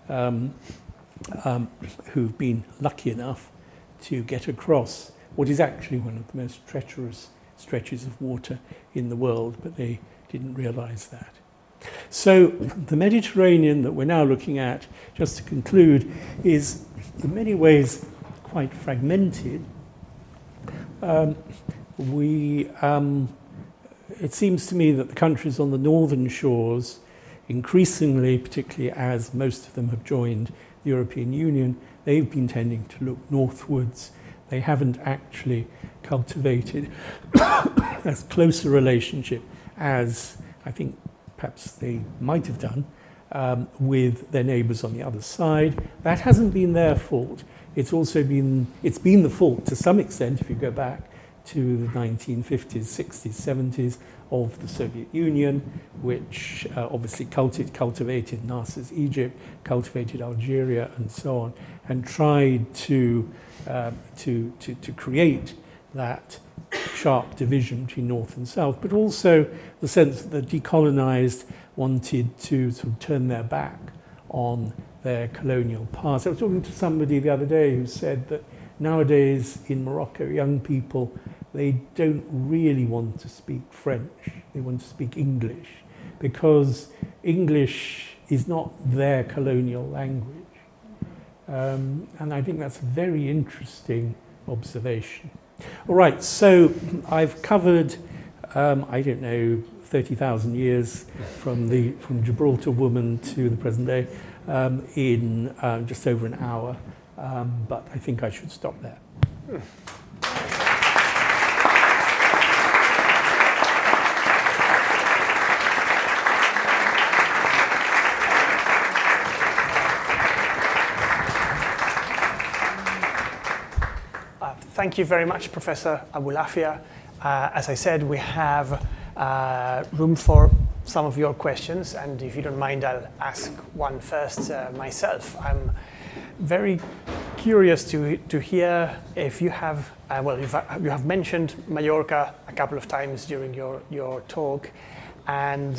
who've been lucky enough to get across what is actually one of the most treacherous stretches of water in the world, but they didn't realize that. So the Mediterranean that we're now looking at, just to conclude, is in many ways quite fragmented. It seems to me that the countries on the northern shores, increasingly, particularly as most of them have joined the European Union, they've been tending to look northwards. They haven't actually cultivated as close a relationship as I think perhaps they might have done, with their neighbours on the other side. That hasn't been their fault. It's been the fault to some extent, if you go back to the 1950s, 60s, 70s of the Soviet Union, which obviously cultivated Nasser's Egypt, cultivated Algeria, and so on, and tried to create that sharp division between North and South, but also the sense that the decolonized wanted to sort of turn their back on their colonial past. I was talking to somebody the other day who said that nowadays in Morocco, young people, they don't really want to speak French. They want to speak English because English is not their colonial language. And I think that's a very interesting observation. All right, so I've covered, 30,000 years from Gibraltar woman to the present day in just over an hour, but I think I should stop there. Thank you very much, Professor Abulafia. As I said, we have room for some of your questions, and if you don't mind, I'll ask one first myself. I'm very curious to hear if you have, you have mentioned Mallorca a couple of times during your talk, and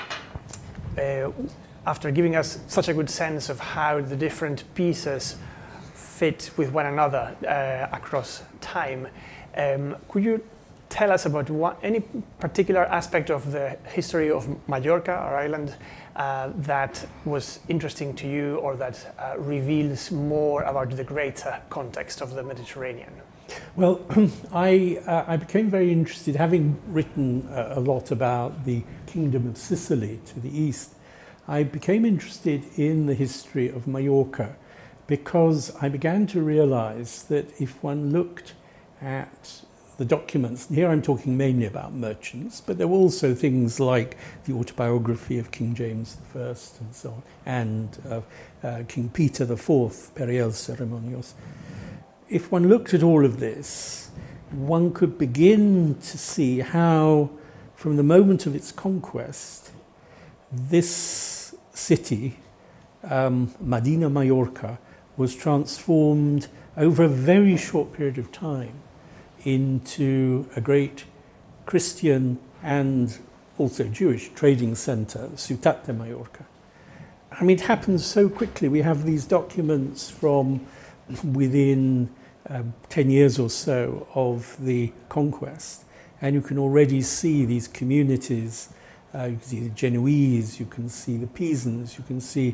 after giving us such a good sense of how the different pieces fit with one another across time, could you tell us about any particular aspect of the history of Mallorca, our island, that was interesting to you, or that reveals more about the greater context of the Mediterranean? Well, I became very interested, having written a lot about the Kingdom of Sicily to the east. I became interested in the history of Mallorca because I began to realize that if one looked at the documents, and here I'm talking mainly about merchants, but there were also things like the autobiography of King James I and so on, and King Peter IV, Periel Ceremonios. If one looked at all of this, one could begin to see how, from the moment of its conquest, this city, Medina Mallorca, was transformed over a very short period of time into a great Christian and also Jewish trading centre, Ciutat de Mallorca. I mean, it happened so quickly. We have these documents from within 10 years or so of the conquest, and you can already see these communities. You can see the Genoese, you can see the Pisans, you can see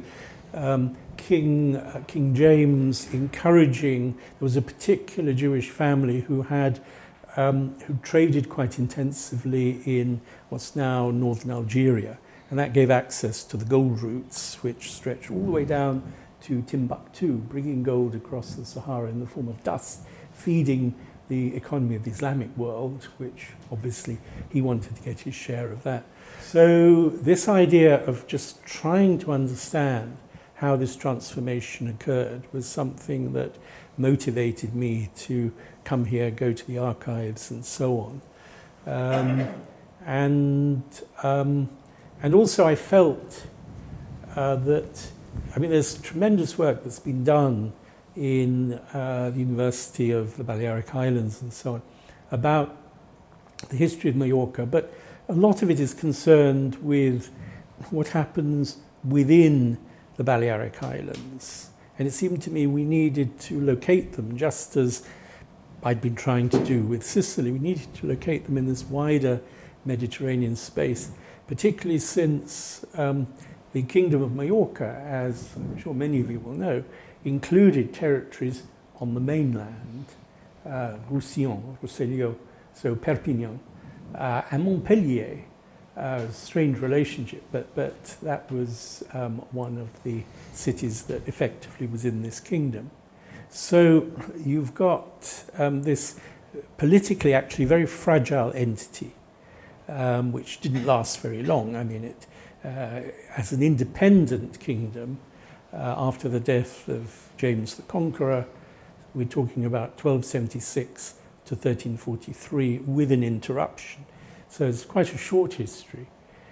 King James encouraging. There was a particular Jewish family who traded quite intensively in what's now northern Algeria, and that gave access to the gold routes, which stretched all the way down to Timbuktu, bringing gold across the Sahara in the form of dust, feeding the economy of the Islamic world, which obviously he wanted to get his share of that. So this idea of just trying to understand how this transformation occurred was something that motivated me to come here, go to the archives and so on. And also I felt that, I mean, there's tremendous work that's been done in the University of the Balearic Islands and so on about the history of Mallorca, but a lot of it is concerned with what happens within the Balearic Islands. And it seemed to me we needed to locate them, just as I'd been trying to do with Sicily. We needed to locate them in this wider Mediterranean space, particularly since the Kingdom of Mallorca, as I'm sure many of you will know, included territories on the mainland, Roussillon, Roussillon, so Perpignan, and Montpellier. Strange relationship, but that was one of the cities that effectively was in this kingdom. So you've got this politically actually very fragile entity which didn't last very long. I mean, it as an independent kingdom, after the death of James the Conqueror, we're talking about 1276 to 1343 with an interruption. So it's quite a short history,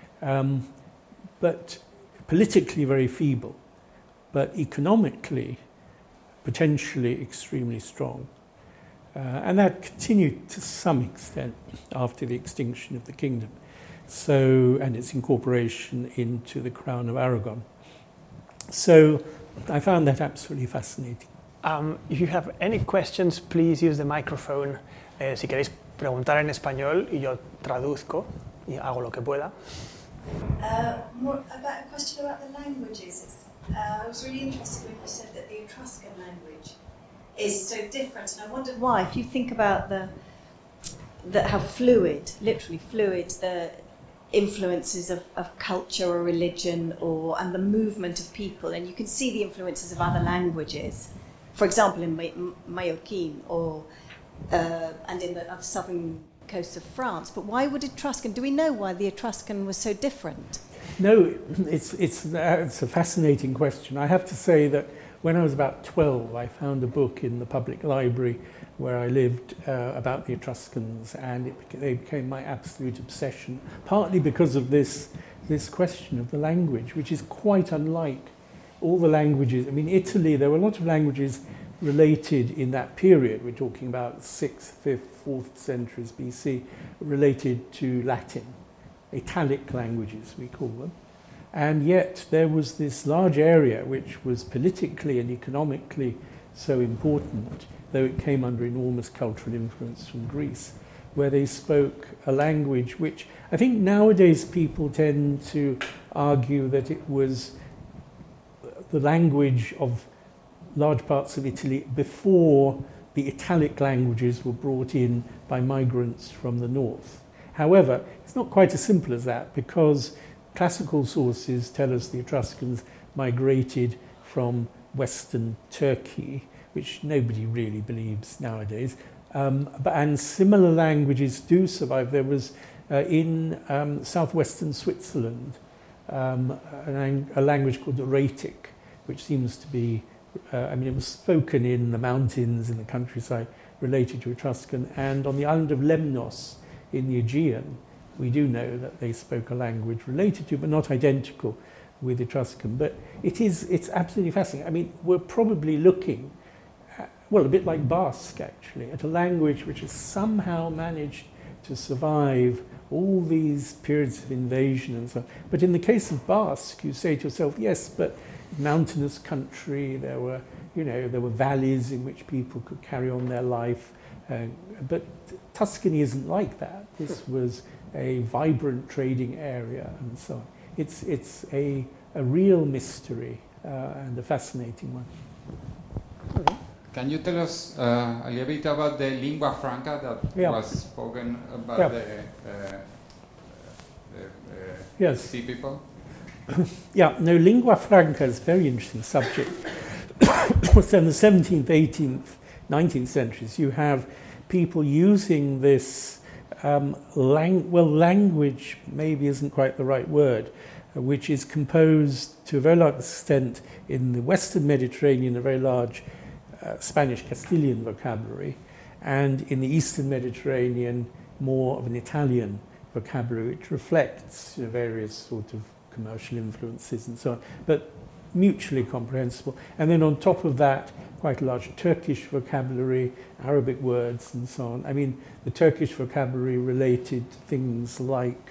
but politically very feeble, but economically potentially extremely strong. And that continued to some extent after the extinction of the kingdom, so, and its incorporation into the Crown of Aragon. So I found that absolutely fascinating. If you have any questions, please use the microphone. Si queréis preguntar en español y yo traduzco y hago lo que pueda. More about a question about the languages. I was really interested when you said that the Etruscan language is so different, and I wondered why. If you think about how fluid, literally fluid, the influences of culture or religion and the movement of people, and you can see the influences of other languages. For example, in Mallorquin and in the southern coast of France. But why would Etruscan? Do we know why the Etruscan was so different? No, it's a fascinating question. I have to say that when I was about 12, I found a book in the public library where I lived about the Etruscans, and they became my absolute obsession, partly because of this question of the language, which is quite unlike all the languages. I mean, Italy, there were a lot of languages related in that period. We're talking about 6th, 5th, 4th centuries BC, related to Latin, Italic languages, we call them. And yet there was this large area which was politically and economically so important, though it came under enormous cultural influence from Greece, where they spoke a language which I think nowadays people tend to argue that it was the language of large parts of Italy before the Italic languages were brought in by migrants from the north. However, it's not quite as simple as that, because classical sources tell us the Etruscans migrated from Western Turkey, which nobody really believes nowadays. And similar languages do survive. There was in southwestern Switzerland a language called Raetic, which seems to be, it was spoken in the mountains, in the countryside, related to Etruscan. And on the island of Lemnos in the Aegean, we do know that they spoke a language related to, but not identical with Etruscan. But it's absolutely fascinating. I mean, we're probably looking at, well, a bit like Basque, actually, at a language which has somehow managed to survive all these periods of invasion and so on. But in the case of Basque, you say to yourself, yes, but mountainous country, there were valleys in which people could carry on their life. But Tuscany isn't like that. This was a vibrant trading area and so on. It's a real mystery and a fascinating one. Okay. Can you tell us a little bit about the lingua franca that was spoken about the sea people? Yeah, no, lingua franca is a very interesting subject. So in the 17th, 18th, 19th centuries, you have people using this language maybe isn't quite the right word, which is composed to a very large extent in the Western Mediterranean, a very large Spanish Castilian vocabulary, and in the Eastern Mediterranean, more of an Italian vocabulary, which reflects various sort of commercial influences and so on, but mutually comprehensible. And then on top of that, quite a large Turkish vocabulary, Arabic words and so on. I mean, the Turkish vocabulary related to things like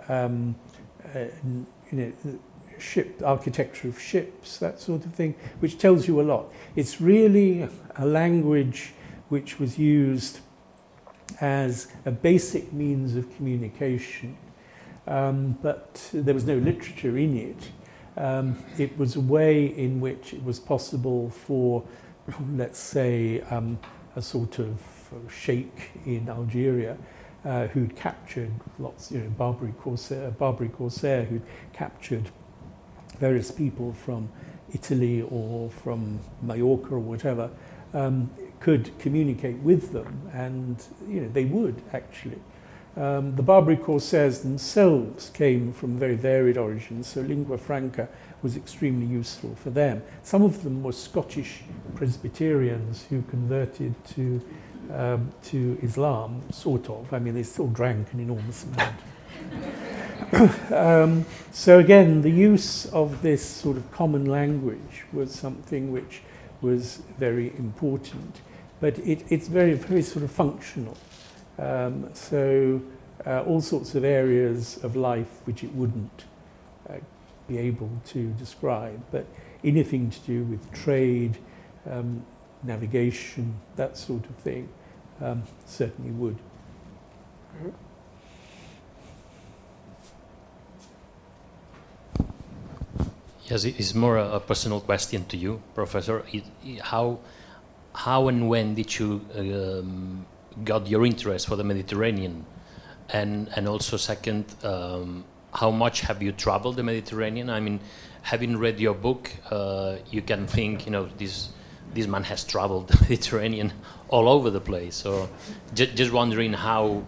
architecture of ships, that sort of thing, which tells you a lot. It's really a language which was used as a basic means of communication, but there was no literature in it. It was a way in which it was possible for, let's say, a sort of sheikh in Algeria who'd captured lots, Barbary corsair who'd captured various people from Italy or from Mallorca or whatever, could communicate with them, and they would actually. The Barbary Corsairs themselves came from very varied origins, so lingua franca was extremely useful for them. Some of them were Scottish Presbyterians who converted to Islam, sort of. I mean, they still drank an enormous amount. So again, the use of this sort of common language was something which was very important, but it's very, very sort of functional. All sorts of areas of life which it wouldn't be able to describe, but anything to do with trade, navigation, that sort of thing, certainly would. Yes, it's more a personal question to you, Professor. How and when did you got your interest for the Mediterranean? And also second, how much have you traveled the Mediterranean? I mean, having read your book, you can think, this man has traveled the Mediterranean all over the place. So just wondering how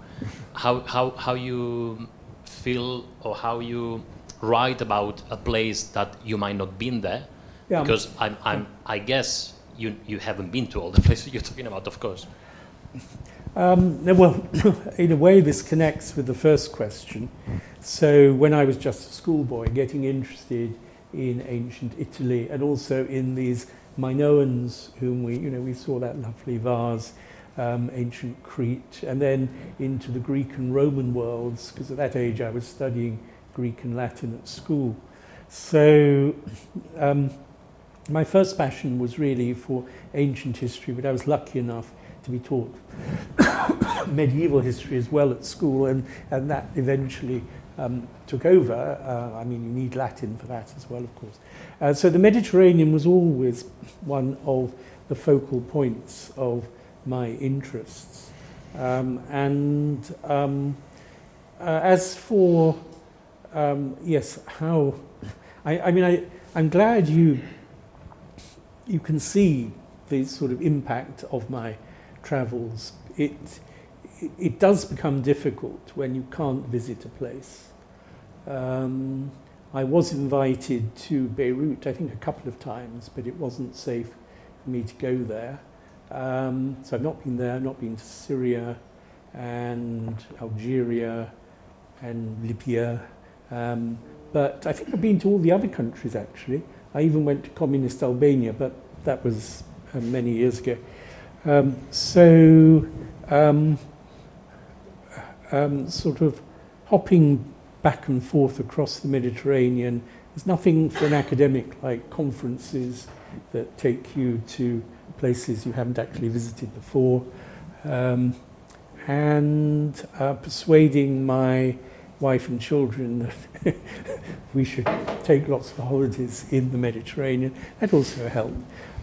you feel or how you write about a place that you might not been there, because I guess you haven't been to all the places you're talking about, of course. Well, in a way, this connects with the first question. So when I was just a schoolboy, getting interested in ancient Italy and also in these Minoans, whom we saw that lovely vase, ancient Crete, and then into the Greek and Roman worlds, because at that age I was studying Greek and Latin at school. So my first passion was really for ancient history, but I was lucky enough to be taught medieval history as well at school, and that eventually took over. I mean, you need Latin for that as well, of course. So the Mediterranean was always one of the focal points of my interests. As for yes, how I'm glad you can see the sort of impact of my travels. It does become difficult when you can't visit a place. I was invited to Beirut, I think a couple of times, but it wasn't safe for me to go there. So I've not been there. I've not been to Syria and Algeria and Libya. But I think I've been to all the other countries, actually. I even went to communist Albania, but that was many years ago. Sort of hopping back and forth across the Mediterranean. There's nothing for an academic like conferences that take you to places you haven't actually visited before. Persuading my wife and children that we should take lots of holidays in the Mediterranean. That also helped.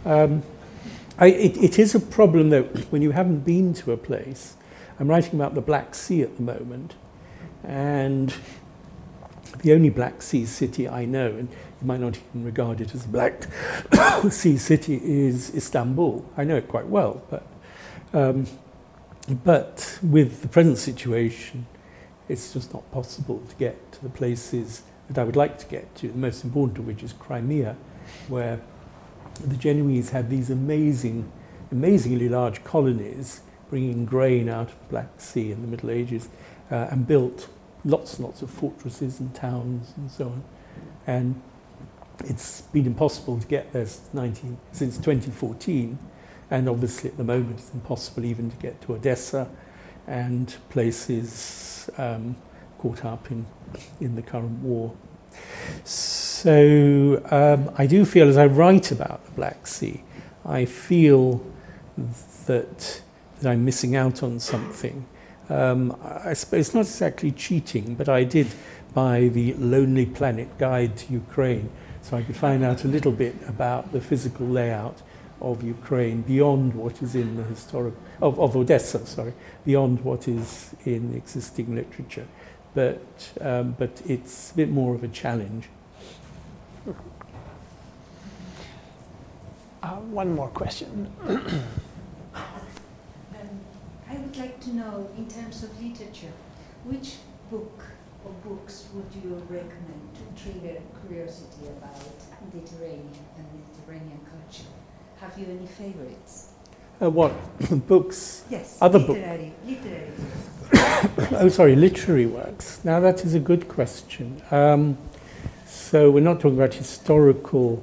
It is a problem, though, when you haven't been to a place. I'm writing about the Black Sea at the moment, and the only Black Sea city I know, and you might not even regard it as a Black Sea city, is Istanbul. I know it quite well, but with the present situation, it's just not possible to get to the places that I would like to get to, the most important of which is Crimea, where the Genoese had these amazingly large colonies bringing grain out of the Black Sea in the Middle Ages, and built lots and lots of fortresses and towns and so on. And it's been impossible to get there since 2014, and obviously at the moment it's impossible even to get to Odessa and places caught up in the current war. So I do feel, as I write about the Black Sea, I feel that I'm missing out on something. I suppose it's not exactly cheating, but I did buy the Lonely Planet Guide to Ukraine, so I could find out a little bit about the physical layout of Ukraine beyond what is in the of Odessa, beyond what is in existing literature. But it's a bit more of a challenge. One more question. I would like to know, in terms of literature, which book or books would you recommend to trigger curiosity about Mediterranean and Mediterranean culture? Have you any favorites? What books? Yes, other books. Literary. Oh, sorry, literary works. Now that is a good question. So we're not talking about historical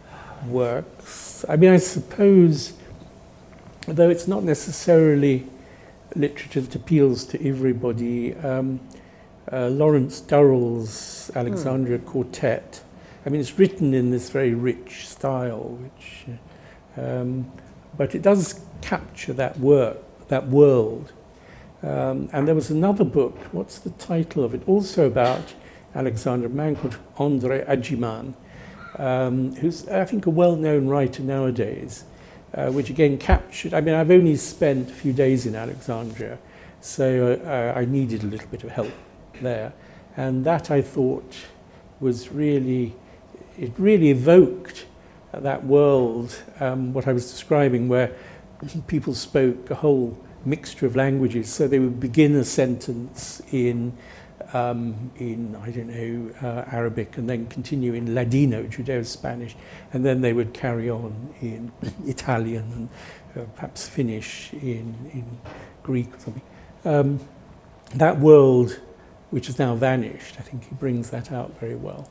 works. I mean, I suppose, though it's not necessarily literature that appeals to everybody, Lawrence Durrell's Alexandria Quartet. I mean, it's written in this very rich style, which, but it does capture that world. And there was another book, what's the title of it? Also about Alexandria, a man called André Agiman, who's, I think, a well-known writer nowadays, which again captured, I mean, I've only spent a few days in Alexandria, so I needed a little bit of help there. And that, I thought, was really, it really evoked that world, what I was describing, where people spoke a whole mixture of languages. So they would begin a sentence in I don't know, Arabic, and then continue in Ladino, Judeo-Spanish, and then they would carry on in Italian and perhaps finish in Greek or something. That world, which has now vanished, I think he brings that out very well.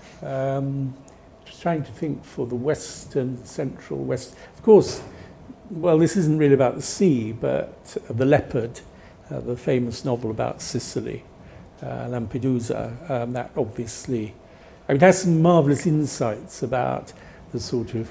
Just trying to think for the Western, Central West. Of course, well, this isn't really about the sea, but The Leopard, the famous novel about Sicily, Lampedusa, that obviously, I mean, it has some marvellous insights about the sort of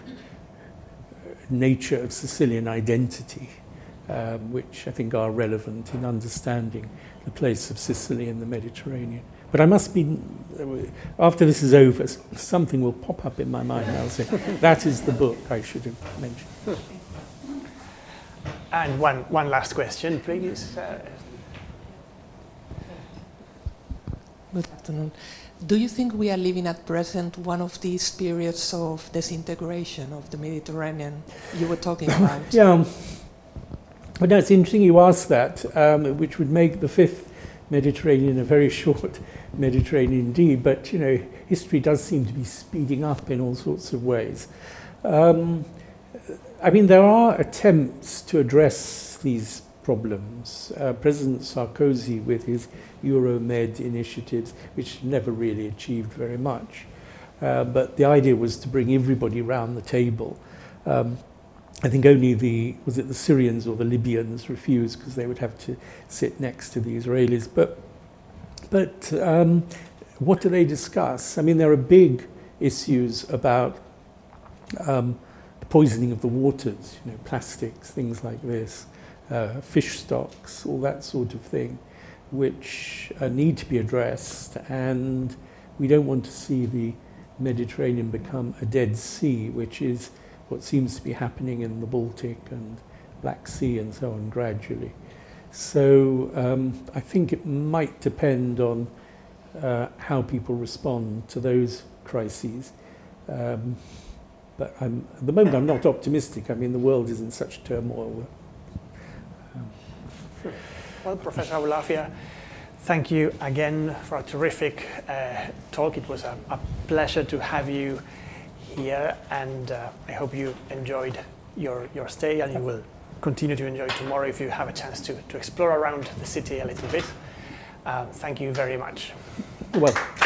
nature of Sicilian identity, which I think are relevant in understanding the place of Sicily in the Mediterranean. But I must be, after this is over, something will pop up in my mind. I'll say, that is the book I should have mentioned. And one last question, please. Good afternoon. Do you think we are living at present one of these periods of disintegration of the Mediterranean you were talking about? Yeah. But no, it's interesting you asked that, which would make the fifth Mediterranean a very short Mediterranean indeed. But, you know, history does seem to be speeding up in all sorts of ways. I mean, there are attempts to address these problems. President Sarkozy, with his Euromed initiatives, which never really achieved very much. But the idea was to bring everybody round the table. I think only the Syrians or the Libyans refused because they would have to sit next to the Israelis. But what do they discuss? I mean, there are big issues about the poisoning of the waters, you know, plastics, things like this, fish stocks, all that sort of thing, which need to be addressed. And we don't want to see the Mediterranean become a Dead Sea, which is what seems to be happening in the Baltic and Black Sea and so on gradually. So I think it might depend on how people respond to those crises. But at the moment I'm not optimistic. I mean, the world is in such turmoil. Well, Professor Aboulafia, thank you again for a terrific talk. It was a pleasure to have you here, and I hope you enjoyed your stay, and you will continue to enjoy tomorrow if you have a chance to explore around the city a little bit. Thank you very much. You're welcome.